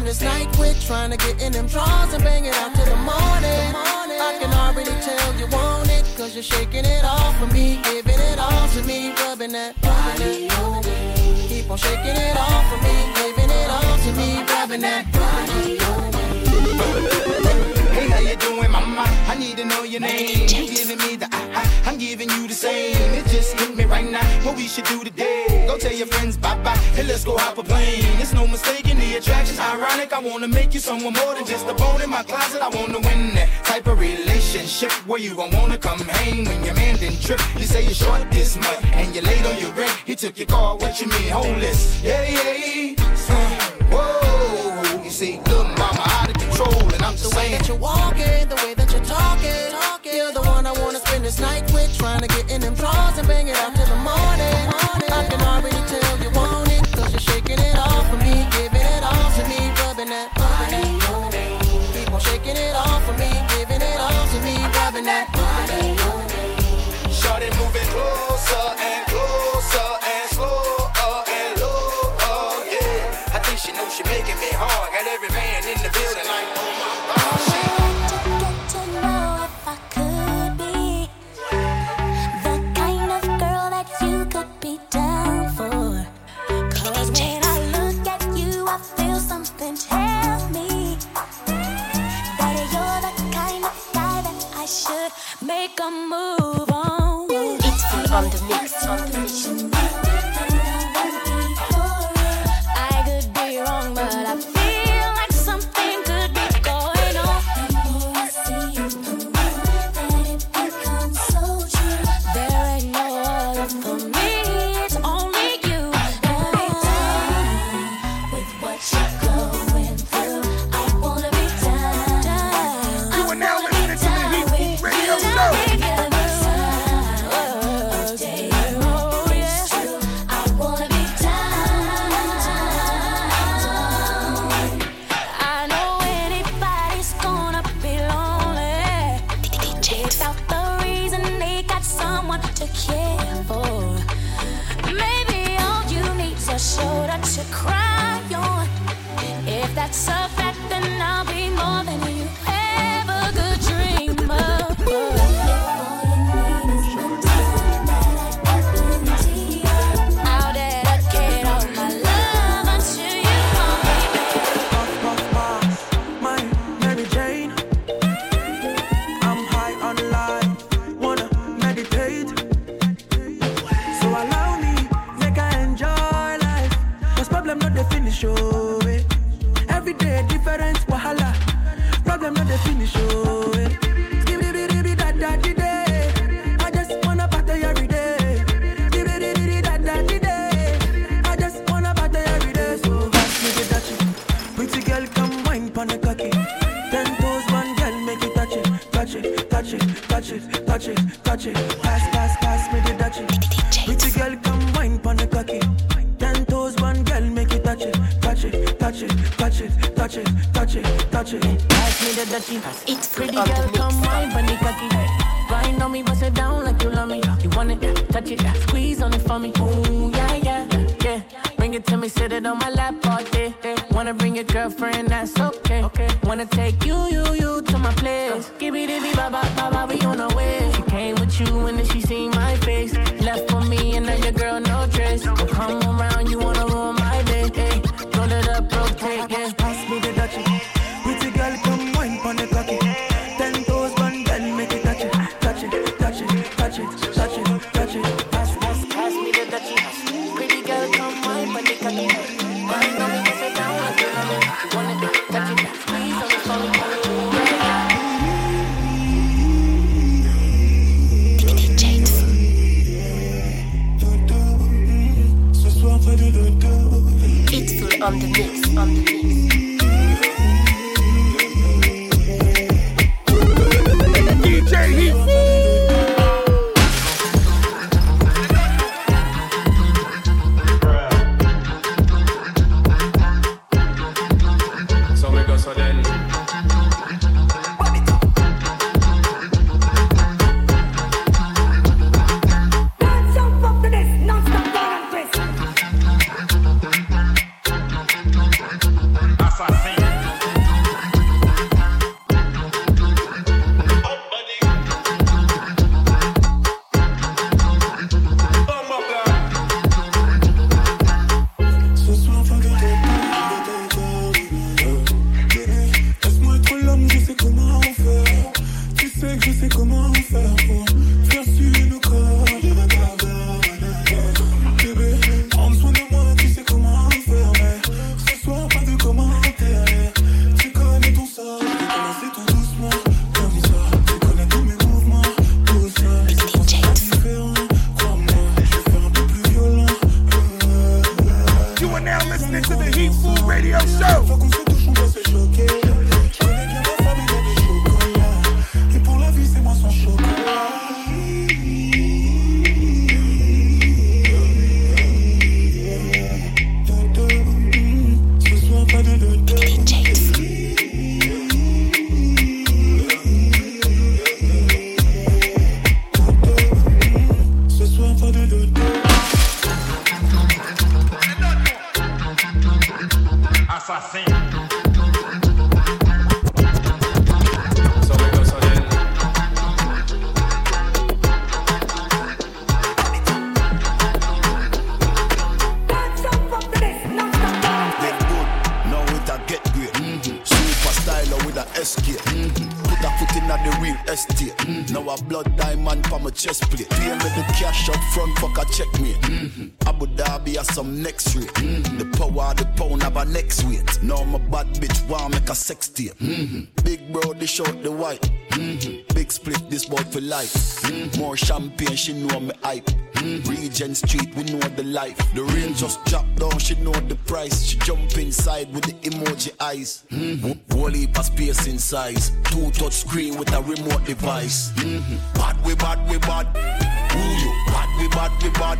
spend this night with. Trying to get in them drawers and bang it out till the morning. I can already tell you want it, cause you're shaking it off for me, giving it all to me, rubbing that body. Keep on shaking it off for me, giving it all to me, rubbing that body. Hey, how you doing, mama? I need to know your name. You giving me the I'm giving you the same. It just hit me right now. What we should do today? Go tell your friends bye-bye, and let's go hop a plane. It's no mistaking the attraction's ironic. I wanna make you someone more than just a bone in my closet. I wanna win that type of relationship where you gon' wanna come hang when your man didn't trip. You say you're short this month, and you're late on your rent. He took your car, what you mean, homeless? Yeah. Whoa, you see, look, mama, out of control, and I'm just saying. The way that you're walking, the way that you're talking, you're the one I wanna spend this night with. Trying to get in them drawers and bang it out till the morning. I can already tell you want it, cause you're shaking it off for me, giving it all to me, rubbing that body. Keep on shaking it off for me, giving it all to me, rubbing that body. Shorty moving closer and closer and slower and lower, yeah. I think she knows she making me hard. Got every man in the building like, oh my God. Make a move on. It's full on the mix. I could be wrong, but I feel like something could be going on. The more I see you, the more that it becomes so true. There ain't no other for me, it's only you. Every time with what you're going through, I wanna be down. You are now listening to the Heat Radio Show. Shoulder to cry on. If that's a fact, then I'll be more than you ever could dream of. I'll dedicate all my love unto you, my Mary Jane. I'm high on life, wanna meditate. So allow me, make I enjoy. Problem not the finish, oh, eh. Every day different wahala. Problem not the finish, oh, eh. I just wanna party every day. I just wanna party every day. So pass me the touchy. Pretty girl, come wine pon the cocky. 10 toes, one girl, make it touch it, touch it, touch it, touch it, touch it, touch it. Pass me the touchy. Pretty girl, come wine pon the cocky. 10 toes, one girl, make it touch it, touch it, touch it, touch it, touch it, touch it, touch it. Pass me the dirty. It's pretty girl, come wine, bunny cocky. Grind on me, bust it down like you love me. You want it, touch it, squeeze on it for me. Ooh, yeah. Bring it to me, sit it on my lap all day. Wanna bring your girlfriend, that's okay. Wanna take you to my place. Give me the ba, we on our way. She came with you and then she seen my face. Left for me and now your girl no trace. Don't come around, you wanna ruin my day. Roll it up, rotate, yeah. Pass me the Dutchie. Pretty girl, come wine pon the cocky. 10 toes, one girl, make it touch it, touch it, touch it, touch it, touch it, touch it. Pass me the Dutchie. Pretty girl, come wine pon the cocky. Grind on me, bust it down like you love me. You want it, touch it, squeeze on it for me. It's full on the mix, on the mix. DJ Heat. So we go so then. Assassin. assassin. Put a foot in at the real estate. Now a blood diamond for my chest plate. Pay me the cash up front, fuck a check me. Abu Dhabi has some next rate. The power of the pound have a next weight. Now my bad bitch want make a sex tape. Big bro, dish out the white. Big split, this boy for life. More champagne, she know me hype. Regent Street, we know the life. The rain just dropped down, she know the price. She jump inside with the emoji eyes. Whole heap of space in size. 2 touch screen with a remote device. Bad we bad we bad. Ooh, you bad we bad we bad.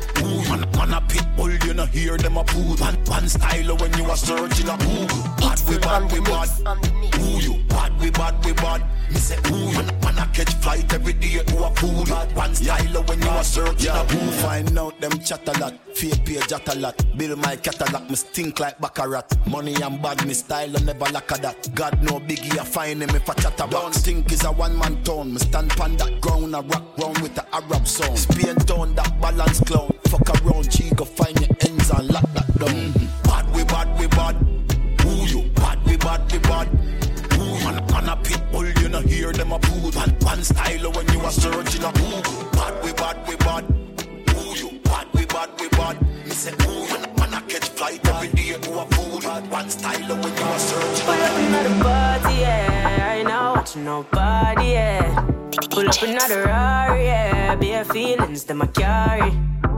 Ooh, man a pit bull, you know hear them a poo. One style when you are searching a Google. Bad we bad we bad. Ooh, you bad we bad we bad. Me say ooh, man a catch flight every day to a pool. One style when you are searching a Google. Find out them chat a lot, fake page at a lot. Build my catalog, me stink like Baccarat. Money and bad, me style and never lack of that. God no biggie, I find him if I chat about. Don't think is a one-man town. Me stand pan that ground, a rock ground with the Arab sound. Spain town, that balance clown. Fuck around, G, go find your ends and lock that down. Bad we bad we bad. Ooh, you bad we bad we bad. Ooh, man a pit bull, you know hear them a poo. One style when you are searching a Google. Bad we bad we bad. Ooh, you bad we bad. Me say ooh, man a catch flight every day to a pool. One style when you are searching. Pull up another party, yeah. I ain't not watching nobody, yeah. Pull up another Rari, yeah. Bare feelings that I carry.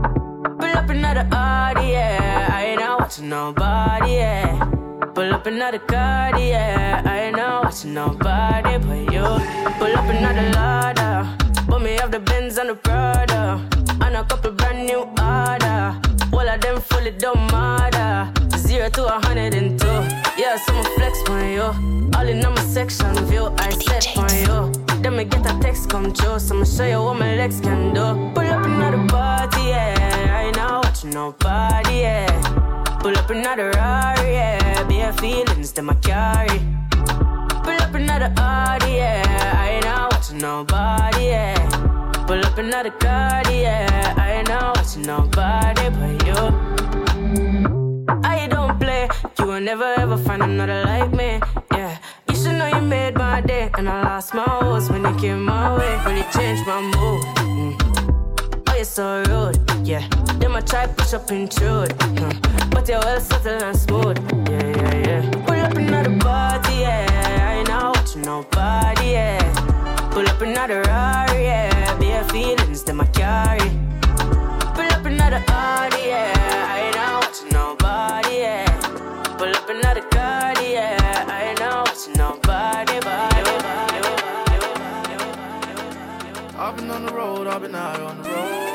Pull up another Audi, yeah. I ain't not watching nobody, yeah. Pull up another card, yeah. I ain't not watching nobody but you. Pull up another Lada. Put me off the Benz and the Prada. And a couple brand new order. All of them fully don't matter. 0 to 102. Yeah, so I'ma flex on you. All in on my section view, I set on you. Then me get a text come true, so I'ma show you what my legs can do. Pull up another party, yeah. I ain't not watching nobody, yeah. Pull up another Rari, yeah. Bare feelings that I carry. Pull up another Audi, yeah. I ain't not watching nobody, yeah. Pull up another card, yeah. I ain't not watching nobody but you. I don't play, you will never ever find another like me, yeah. You should know you made my day, and I lost my horse when you came my way. Really changed my mood. Oh, you're so rude, yeah. Then I try push up intrude, but you're well subtle and smooth, yeah. Pull up another party, yeah. I ain't not watching nobody, yeah. Pull up another Rari, yeah. Bare feelings that I carry. Pull up another Audi, yeah. I ain't not watching nobody, yeah. Pull up another card, yeah. I ain't not watching nobody but you. I've been on the road, I've been out on the road.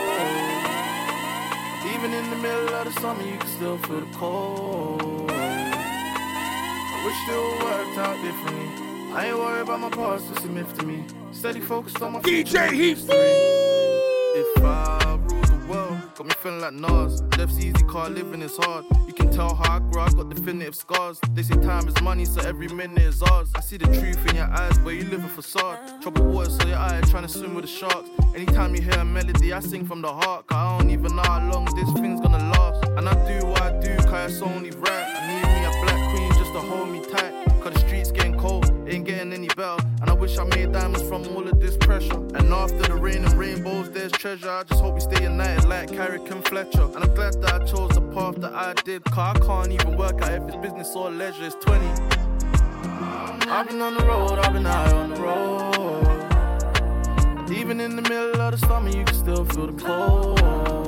Even in the middle of the summer, you can still feel the cold. I wish it all worked out differently. I ain't worried about my past, it's a myth to me. Steady focused on my DJ Heaps. If I rule the world, got me feeling like Nas. Life's easy, car living is hard. You can tell how I grew, I got definitive scars. They say time is money, so every minute is ours. I see the truth in your eyes, but you live a facade. Troubled waters, so your eye trying to swim with the sharks. Anytime you hear a melody, I sing from the heart. Cause I don't even know how long this thing's gonna last. And I do what I do, cause it's only right. I need me a black queen just to hold me tight. Cause the streets getting cold, ain't getting any better. And I wish I made diamonds from all of this pressure. And after the rain and rainbows, there's treasure. I just hope we stay united like Carrick and Fletcher. And I'm glad that I chose the path that I did. Cause I can't even work out if it's business or leisure. It's 20. I've been on the road, I've been out on the road. Even in the middle of the summer, you can still feel the cold.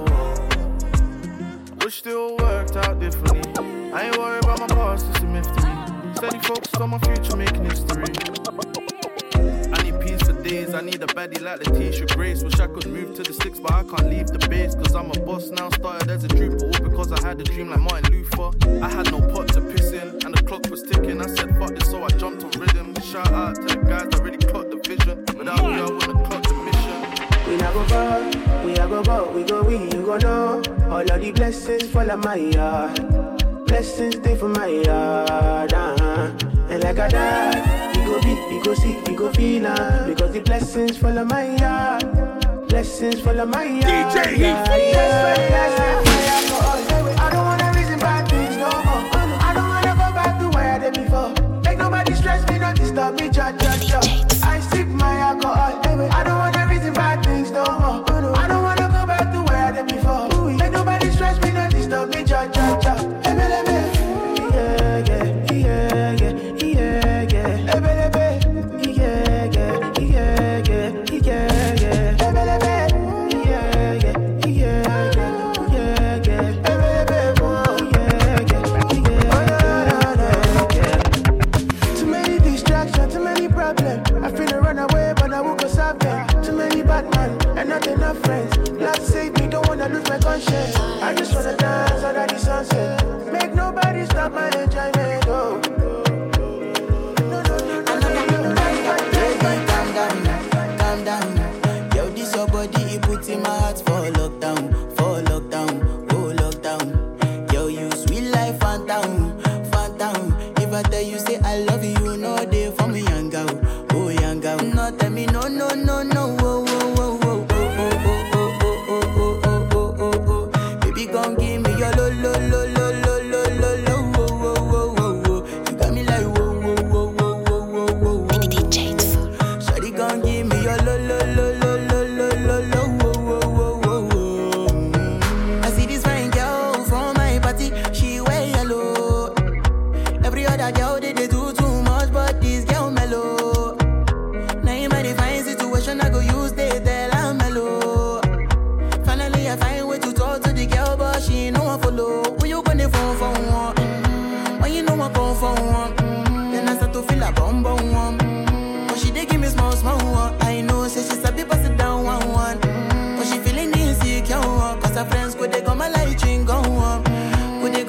Wish it all worked out differently. I ain't worried about my past, it's a myth to me. Steady focused on my future, making history. I need peace for days, I need a baddie like Letitia Grace. Wish I could move to the sticks, but I can't leave the base. Cause I'm a boss now, started as a trooper. All because I had a dream like Martin Luther. I had no pot to piss in, and the clock was ticking. I said fuck this, so I jumped on rhythm. Shout out to the guys that really clocked the vision. Without me, I wouldn't clock the mission. We not go far, we a go bout, we go we, you go know. All of the blessings fall on my yard. blessings stay for my yard. And like I died, he go beat, he go see, he go feel because the blessings follow my yard. Blessings follow my yard. DJ Heat. I don't wanna reason bad things no more. I don't wanna go back to where I did before. Make nobody stress me, not disturb me, cha. I sip my alcohol. I don't wanna reason bad things no more. I don't wanna go back to where I did before. Make nobody stress me, not disturb me, cha. I just wanna dance under the sunset. Make nobody stop my enjoyment. Oh. Calm down. Yo, this your body, it puts in my heart for lockdown, oh lockdown. Yo, you sweet life, phantom. If I tell you say I love you, you know they for me, young girl, oh young girl. No, tell me no. Come give me your lo. You got me like whoa. Shawty come give me your lo. I see this fine girl from my party, she wear yellow. Every other girl they do too much, but this girl mellow. Now in my divine situation, I go use they tell I'm mellow. Finally I find way to talk to the girl, but she ain't no one follow. When you gonna phone for one? When you know I come for one? Then I start to feel a bum one. But she dey give me small one. I know, say she's a bit pass it down one. But she feeling insecure, cause her friends could they come a light ring go on. Baby,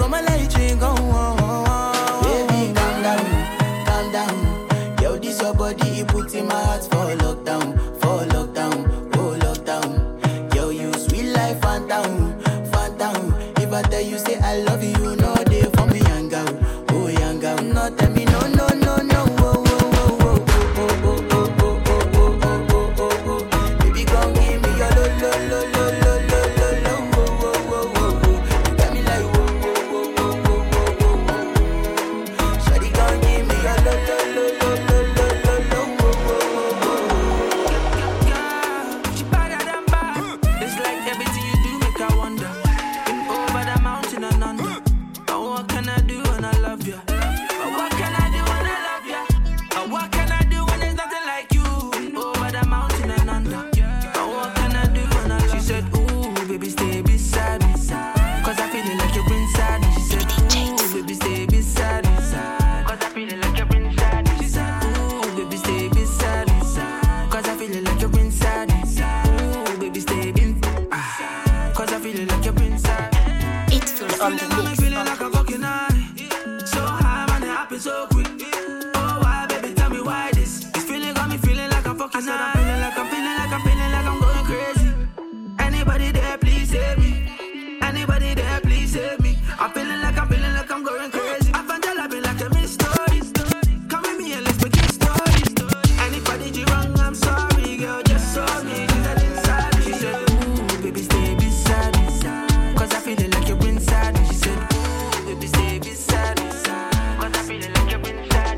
calm down. Yo, this your body, it puts in my heart for lockdown, oh lockdown. Yo, you sweet life, phantom. If I tell you say I love you, you know they for me, young girl, oh young girl. No, tell me no. Baby, come give me your lo. You got me like whoa. Shawty, come give me your lo. She better than bad. It's like everything you do make I wonder. Over the mountain and under. But what can I do when I love you? But what can I do when I love you? But what can I do when there's nothing like you? Over the mountain and under. But what can I do when I love you? She said, ooh, baby, stay beside me. Cause I feel it like you're inside me. She said, ooh, baby, stay beside me. Cause I feel it like you're inside me. She said, ooh, baby, stay beside me. Cause I feel it like you're inside me. Ooh, baby, stay in. Cause I feel it like you're inside. It's full on the mix. Feeling like a fucking high. So high, man, it happens so quick. Oh, why, baby, tell me why this? This feeling got me feeling like I'm fucking high. I'm feeling like I'm going crazy. Anybody there, please save me. Anybody there, please save me. I'm feeling like I'm going crazy. I find your love like a mystery. Come with me and let's make it story. And if I did you wrong, I'm sorry, girl, just show me. She said inside me. She said, ooh, baby, stay beside me. Cause I feel like you're inside me. She said, ooh, baby, stay beside me. Cause I feel like you're inside me.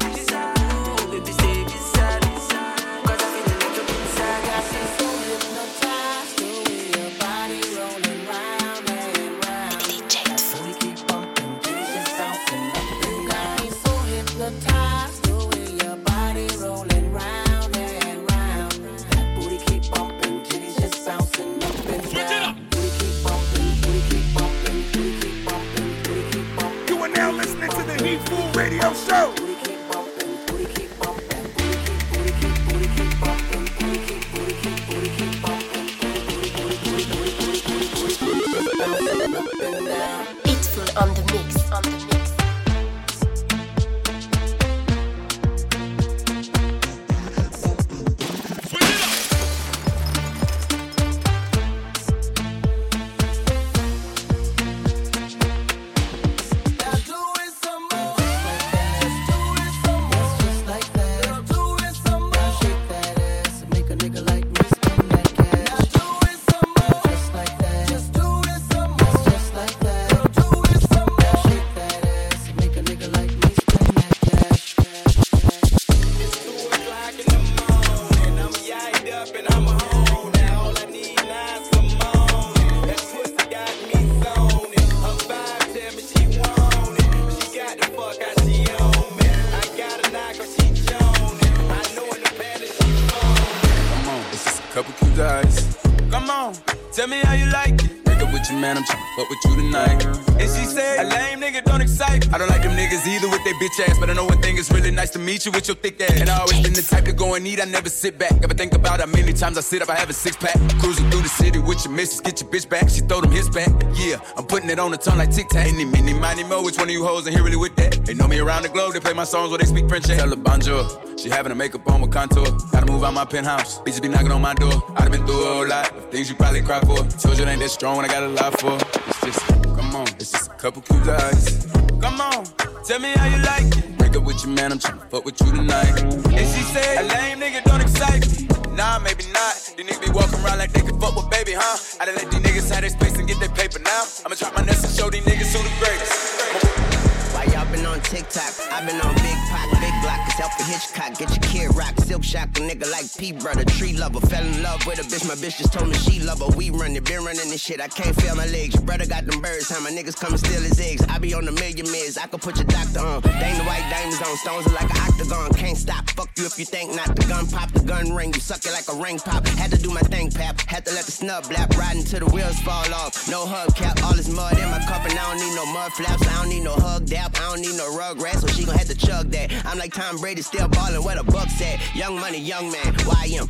tell me how you like it. Break up with your man, I'm tryna fuck with you tonight. And she said, a lame nigga don't excite me. I don't like them niggas either with their bitch ass, but I know one thing is really nice to meet you with your thick ass. And I always been the type to go and eat, I never sit back. Ever think about how many times I sit up, I have a six-pack. Cruising through the city with your missus, get your bitch back. She throw them hits back. Yeah, I'm putting it on the tongue like tic-tac. Any, mini, miny, mo, which one of you hoes in here really with that? They know me around the globe, they play my songs where they speak French. Tell her bonjour, she having her makeup on with contour. Gotta move out my penthouse, bitches be knocking on my door. I've been through a whole lot of things you probably cry for. Told you it ain't that strong when I got a lot for. It's just, come on, it's just a couple cute lies. Come on, tell me how you like it. Break up with your man, I'm tryna fuck with you tonight. And she said, a lame nigga don't excite me. Nah, maybe not. These niggas be walking around like they can fuck with baby, huh? I done let these niggas have their space and get their paper now. I'ma drop my nuts and show these niggas who the greatest. Why y'all been on TikTok? I been on Big Pop, Big Block, it's Alfred Hitchcock. Get your kid rock, Silk Shock, a nigga like P brother, tree lover. Fell in love with a bitch, my bitch just told me she love her. We run it, been running this shit, I can't feel my legs. Brother got them birds, how my niggas come and steal his eggs. I be on the million mids, I could put your doctor on. Dang the white diamonds on, stones are like an octagon. Can't stop, fuck you if you think not. The gun pop, the gun ring, you suck it like a ring pop. Had to do my thing, pap, had to let the snub blap. Riding till the wheels fall off, no hubcap. All this mud in my cup and I don't need no mud flaps. I don't need no hug dap, I don't need no rug rat, so she gon' have to chug that. I'm like Tom Brady, still ballin' where the Bucks at. Young money, young man, YM.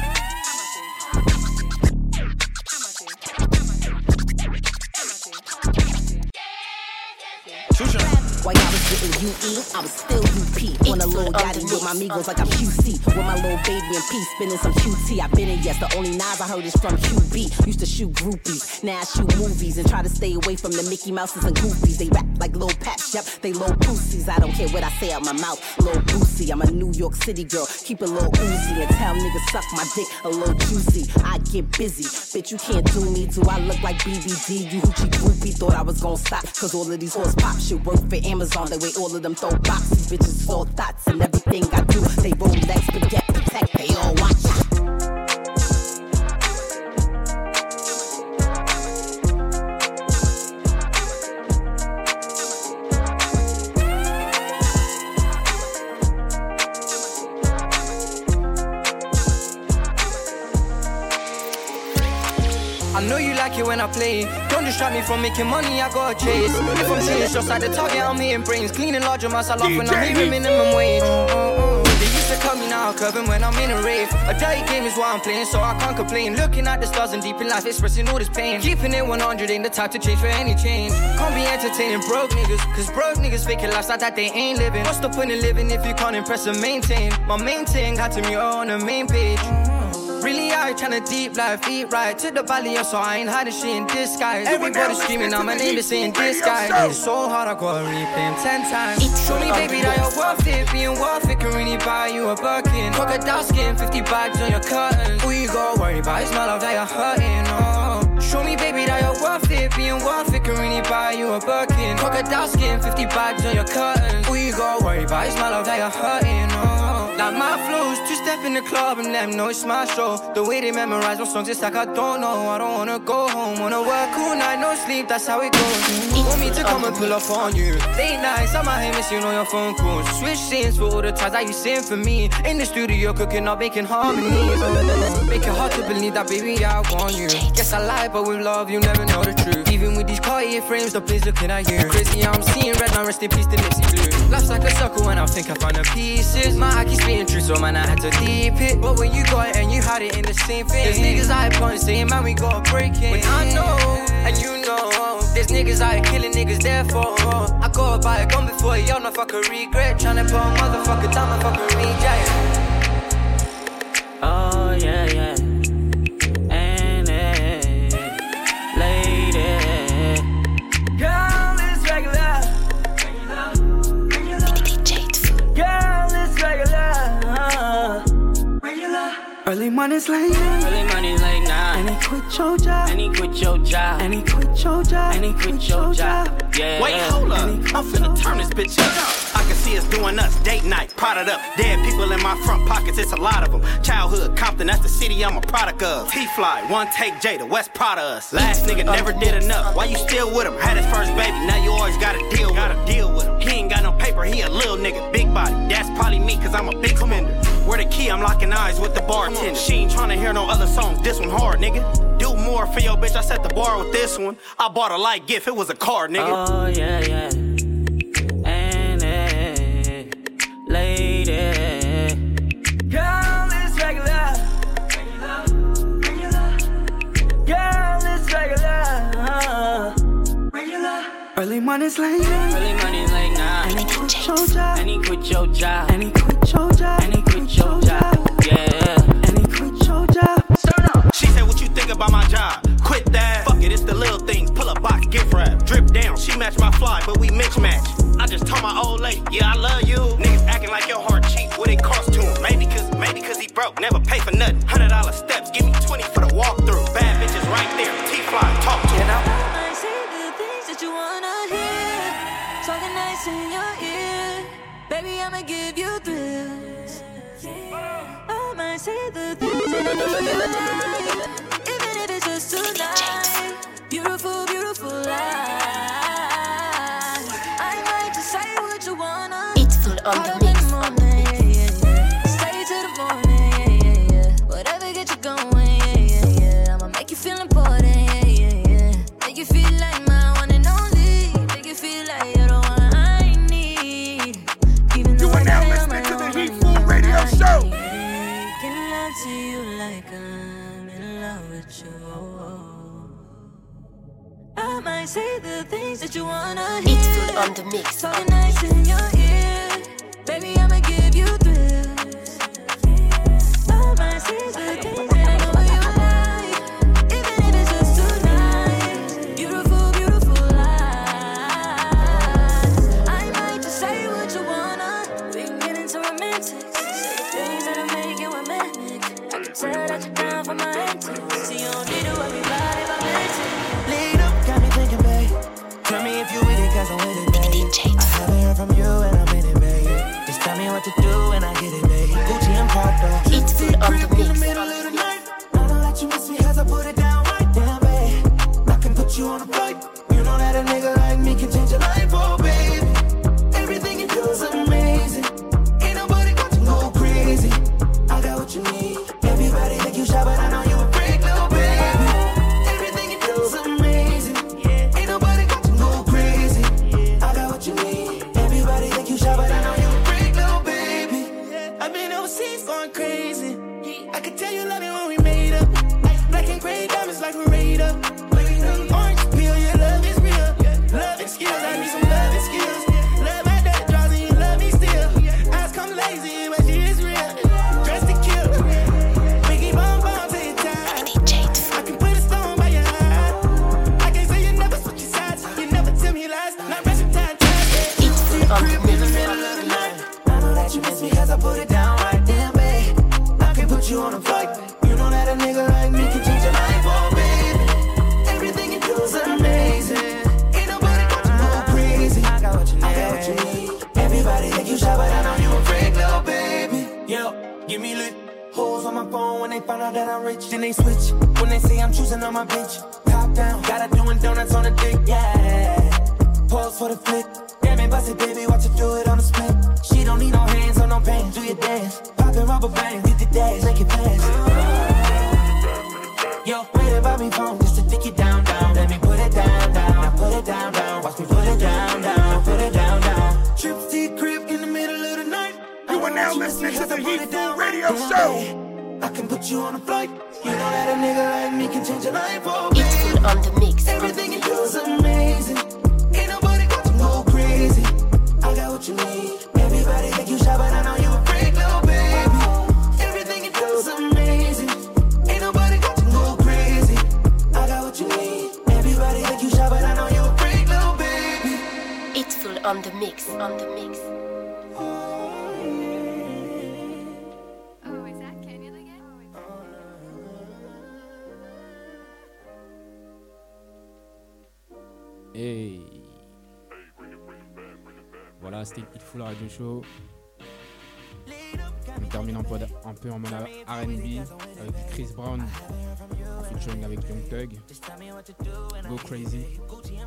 While y'all was getting UE, I was still UP. On a little yachty with my amigos like I'm QC. With my little baby in peace, spinning some QT. I been in, yes, the only Nas I heard is from QB. Used to shoot groupies, now I shoot movies. And try to stay away from the Mickey Mouses and Goofies. They rap like Lil Paps, yep, they low pussies. I don't care what I say out my mouth, Lil Boosie. I'm a New York City girl, keep it Lil Uzi. And tell niggas suck my dick a little juicy. I get busy, bitch, you can't do me. Do I look like BBD? You hoochie groupie, thought I was gon' stop. Cause all of these horse pop shit work for Amazon. The way all of them throw boxes, bitches is all thoughts. And everything I do, they Rolex, forget, protect, they all watch. I know you like it when I play. Don't distract me from making money, I gotta chase. If I'm serious, just like the target, I'm hitting brains. Cleaning large amounts, I laugh when I'm hearing minimum wage. They used to cut me now, curving when I'm in a rave. A dirty game is what I'm playing, so I can't complain. Looking at the stars and deep in life, expressing all this pain. Keeping it 100 ain't the type to change for any change. Can't be entertaining broke niggas, cause broke niggas faking lifestyle that they ain't living. What's the point in living if you can't impress and maintain? My main thing had to meet her on the main page. Really I tryna deep life, eat right to the valley, so I ain't hiding shit in disguise. Everybody screaming out my name, is saying this guy. It's so hard, I gotta replay him 10 times. Show me, baby, that you're worth it. Being worth it can really buy you a Birkin. Crocodile skin, 50 bags on your curtains. Who you gotta worry about? It's my love that you're hurting, oh. Show me, baby, that you're worth it. Being worth it can really buy you a Birkin. Crocodile skin, 50 bags on your curtains. Who you gotta worry about? It's my love that you're hurting, oh. Like my flows, two step in the club and let them know it's my show. The way they memorize my songs, it's like I don't know. I don't wanna go home, wanna work all night, no sleep, that's how it goes. Want me to come and pull up on you. Late nights, I'm out here missing all your phone calls. Switch scenes for all the times that you sing for me. In the studio cooking up, making harmonies. Make it hard to believe that, baby, I want you. Guess I lie, but with love, you never know the truth. Even with these Cartier frames, the place looking at you. Crazy, I'm seeing red, now rest in peace, the Nipsey blue. Life's like a circle and I think I found the pieces. My eye keeps being true, so man, I had to deep it. But when you got it and you had it in the same thing. There's niggas out here plotting, saying, man, we gotta break it. When I know, and you know, there's niggas out here killing niggas, therefore I gotta buy a gun before y'all know if I could regret. Tryna put a motherfucker down, motherfucker reject. Oh, yeah, yeah. And lady, girl, it's regular. Girl, it's regular. Early mornings late night. Early mornings late night. And he quit your job. And he quit your job. And he quit your job. And he quit your job. Yeah. Wait, hold up. I'm finna turn this bitch up. I can see us doing us date night, prodded up. Dead people in my front pockets, it's a lot of them. Childhood Compton, that's the city I'm a product of. T-Fly, One Take Jada, West proud of us. Last nigga never did enough. Why you still with him? Had his first baby, now you always gotta deal with him. He ain't got no paper, he a little nigga, big body. That's probably probably me, cause I'm a big spender. Where the key, I'm locking eyes with the bartender. She ain't tryna hear no other song, this one hard, nigga. Do more for your bitch, I set the bar with this one. I bought a light gift, it was a car, nigga. Oh, yeah, yeah. And lady. Girl, it's regular. Girl, it's regular. Early mornings late night. Early mornings late night. And he quit your job. And he quit your job. And he quit your job. And he quit your job. Yeah. And he quit your job. She said, what you think about my job? Quit that. Fuck it, it's the little things. Pull up box, gift wrap. Drip down, she match my fly, but we mismatch. I just told my old lady, yeah, I love you. Niggas acting like your heart cheap, what it cost to him. Maybe cause he broke, never pay for nothing. $100 steps, give me 20 for the walkthrough. Bad bitches right there, T-Fly, talk to him. I say the things that you wanna hear. Talking nice in your ear. Baby, I'ma give you thrills. I might say the things that you wanna even if it's just tonight. Beautiful, beautiful life. I might just say what you wanna. It's full on the mix. Stay till the morning, whatever get you going, I'ma make you feel important, Make you feel like my one and only. Make you feel like you're the one I need. Even though You are now listening to the Heat Food Radio Show. Making love to you like I'm in love with you. I might say the things that you wanna hear. It's full on the mix. Talking nice in your ear. Baby, I'ma give you thrills. I might say the things that I know you like. Even if it's just tonight. Beautiful, beautiful life. I might just say what you wanna. We can get into romantics. Say things that'll make you romantic. I can tell that you're down for my antics. See, you don't need to worry about it, I'm Lead up, got me thinking, babe. Tell me if you with it, cause I'm with it, babe. I haven't heard from you and I'm in it, babe. Just tell me what to do and I get it, babe. Gucci and Prada. It's full on the In the mix. middle of the night. I know that you miss me cause I put it down right down, babe. I can put you on a flight. You know that a nigga like me can change your life, oh, babe. Everything you do is amazing. Ain't nobody got to go crazy. I got what you need. Everybody think you shy, but I know you a freak, little baby. Everything you do is amazing. Ain't nobody got to go crazy. I got what you need. Everybody think you shy, but I know you a freak, little baby. I've been overseas going crazy. I could tell you love it when we made up. Black and gray diamonds like we're raid up. Orange peel, your love is real. Love and skills, I need some love and skills. Love my that draws and you love me still. Eyes come lazy, but she is real. Dress to kill. Biggie bomb bomb to your time. I can put a stone by your eye. I can say you never switch your sides. You never tell me lies. Not rest your time. It's full on the In the middle of the night. I know that you miss me cause I put it down right there, babe. I can put you on a flight. You know that a nigga like me can change your life, oh, baby. Everything you do is amazing. Ain't nobody got to go crazy. I got what you need. Everybody think you shy, but I know you a freak, little baby. Yo, give me lit. Hoes on my phone when they find out that I'm rich. Then they switch when they say I'm choosing on my bitch. Top down, gotta doing donuts on the dick, yeah. Pause for the flick. Damn it, bust it, baby, watch her do it on the split. She don't need no hands or no pants. Do your dance, poppin' rubber bands, get the dash, make it fast. Yo, wait about me phone just to dick it down, down. Let me put it down, down. Now put it down, down. Watch me put it down, down. Put it down, down. Trip to your crib in the middle of the night. You are now listening to the Heat Food Radio Show. I can put you on a flight. You know that a nigga like me can change your life, oh, It's full on the mix. everything you do is amazing. Ain't nobody got to go crazy. I got what you need. Everybody think you shy, but I know you a freak, little baby. Everything you do is amazing. Ain't nobody got to go crazy. I got what you need. Everybody think you shy, but I know you a freak, little baby. It's full on the mix. On the mix. Hey. Voilà, c'était Hit Full Radio Show. On termine un peu en mode R&B avec Chris Brown en featuring avec Young Thug. Go Crazy.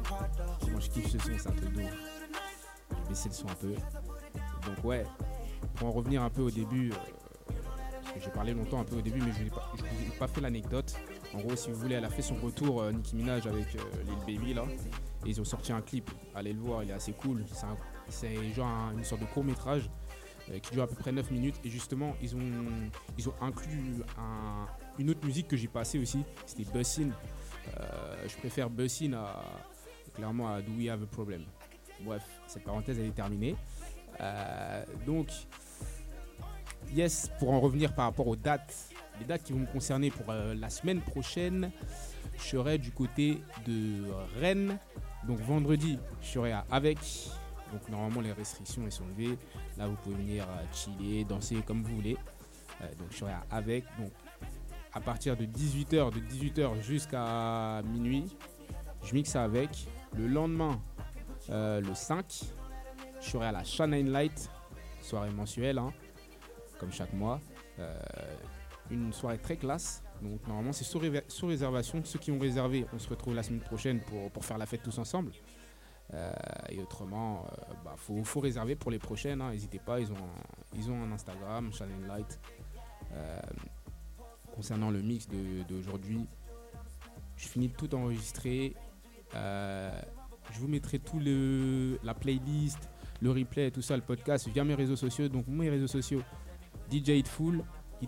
Moi je kiffe ce son, c'est un truc de ouf. Je vais baisser le son un peu. Donc ouais, pour en revenir un peu au début, parce que j'ai parlé longtemps un peu au début, mais je vous ai pas fait l'anecdote. En gros, si vous voulez, elle a fait son retour, Nicki Minaj avec Lil Baby là, et ils ont sorti un clip. Allez le voir, il est assez cool. C'est genre une sorte de court métrage qui dure à peu près 9 minutes, et justement ils ont inclus une autre musique que j'ai passée aussi, c'était Bussin'. Je préfère Bussin' clairement à Do We Have a Problem. Bref, cette parenthèse elle est terminée. Donc yes, pour en revenir par rapport aux dates, les dates qui vont me concerner pour la semaine prochaine, je serai du côté de Rennes. Donc vendredi, je serai à Avec. Donc normalement les restrictions elles sont levées. Là vous pouvez venir chiller, danser comme vous voulez. Donc je serai à Avec. Donc à partir de 18h jusqu'à minuit, je mixe Avec. Le lendemain, le 5, je serai à la Shine Light, soirée mensuelle, hein, comme chaque mois. Une soirée très classe. Donc normalement c'est sous réservation. Ceux qui ont réservé, on se retrouve la semaine prochaine pour faire la fête tous ensemble. Et autrement, faut réserver pour les prochaines. Hein. N'hésitez pas, ils ont un Instagram, Shine Light. Concernant le mix d'aujourd'hui, je finis de tout enregistrer. Je vous mettrai la playlist, le replay, tout ça, le podcast via mes réseaux sociaux. Donc mes réseaux sociaux, DJ Hitful,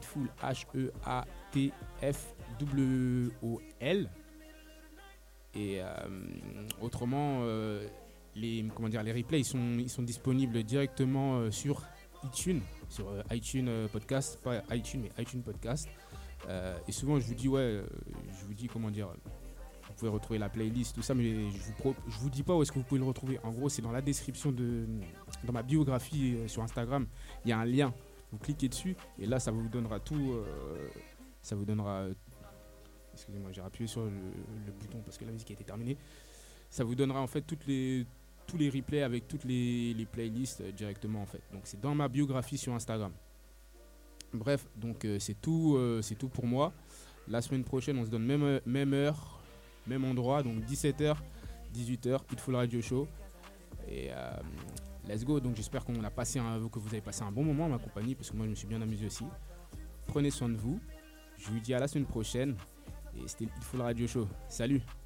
HEATFWOL. Et autrement, les replays ils sont disponibles directement sur iTunes, Podcast, pas iTunes mais iTunes Podcast. Et souvent je vous dis comment dire, vous pouvez retrouver la playlist, tout ça, mais je vous dis pas où est-ce que vous pouvez le retrouver. En gros, c'est dans la description dans ma biographie sur Instagram, il y a un lien. Vous cliquez dessus et là ça vous donnera tout. Ça vous donnera. Excusez-moi, j'ai appuyé sur le bouton parce que la musique a été terminée. Ça vous donnera en fait tous les replays avec toutes les playlists directement en fait. Donc c'est dans ma biographie sur Instagram. Bref, donc c'est tout pour moi. La semaine prochaine, on se donne même heure, même endroit, donc 17h, 18h, Hitful Radio Show. Et let's go. Donc j'espère que vous avez passé un bon moment à ma compagnie, parce que moi je me suis bien amusé aussi. Prenez soin de vous. Je vous dis à la semaine prochaine. Et c'était Hitful Radio Show. Salut!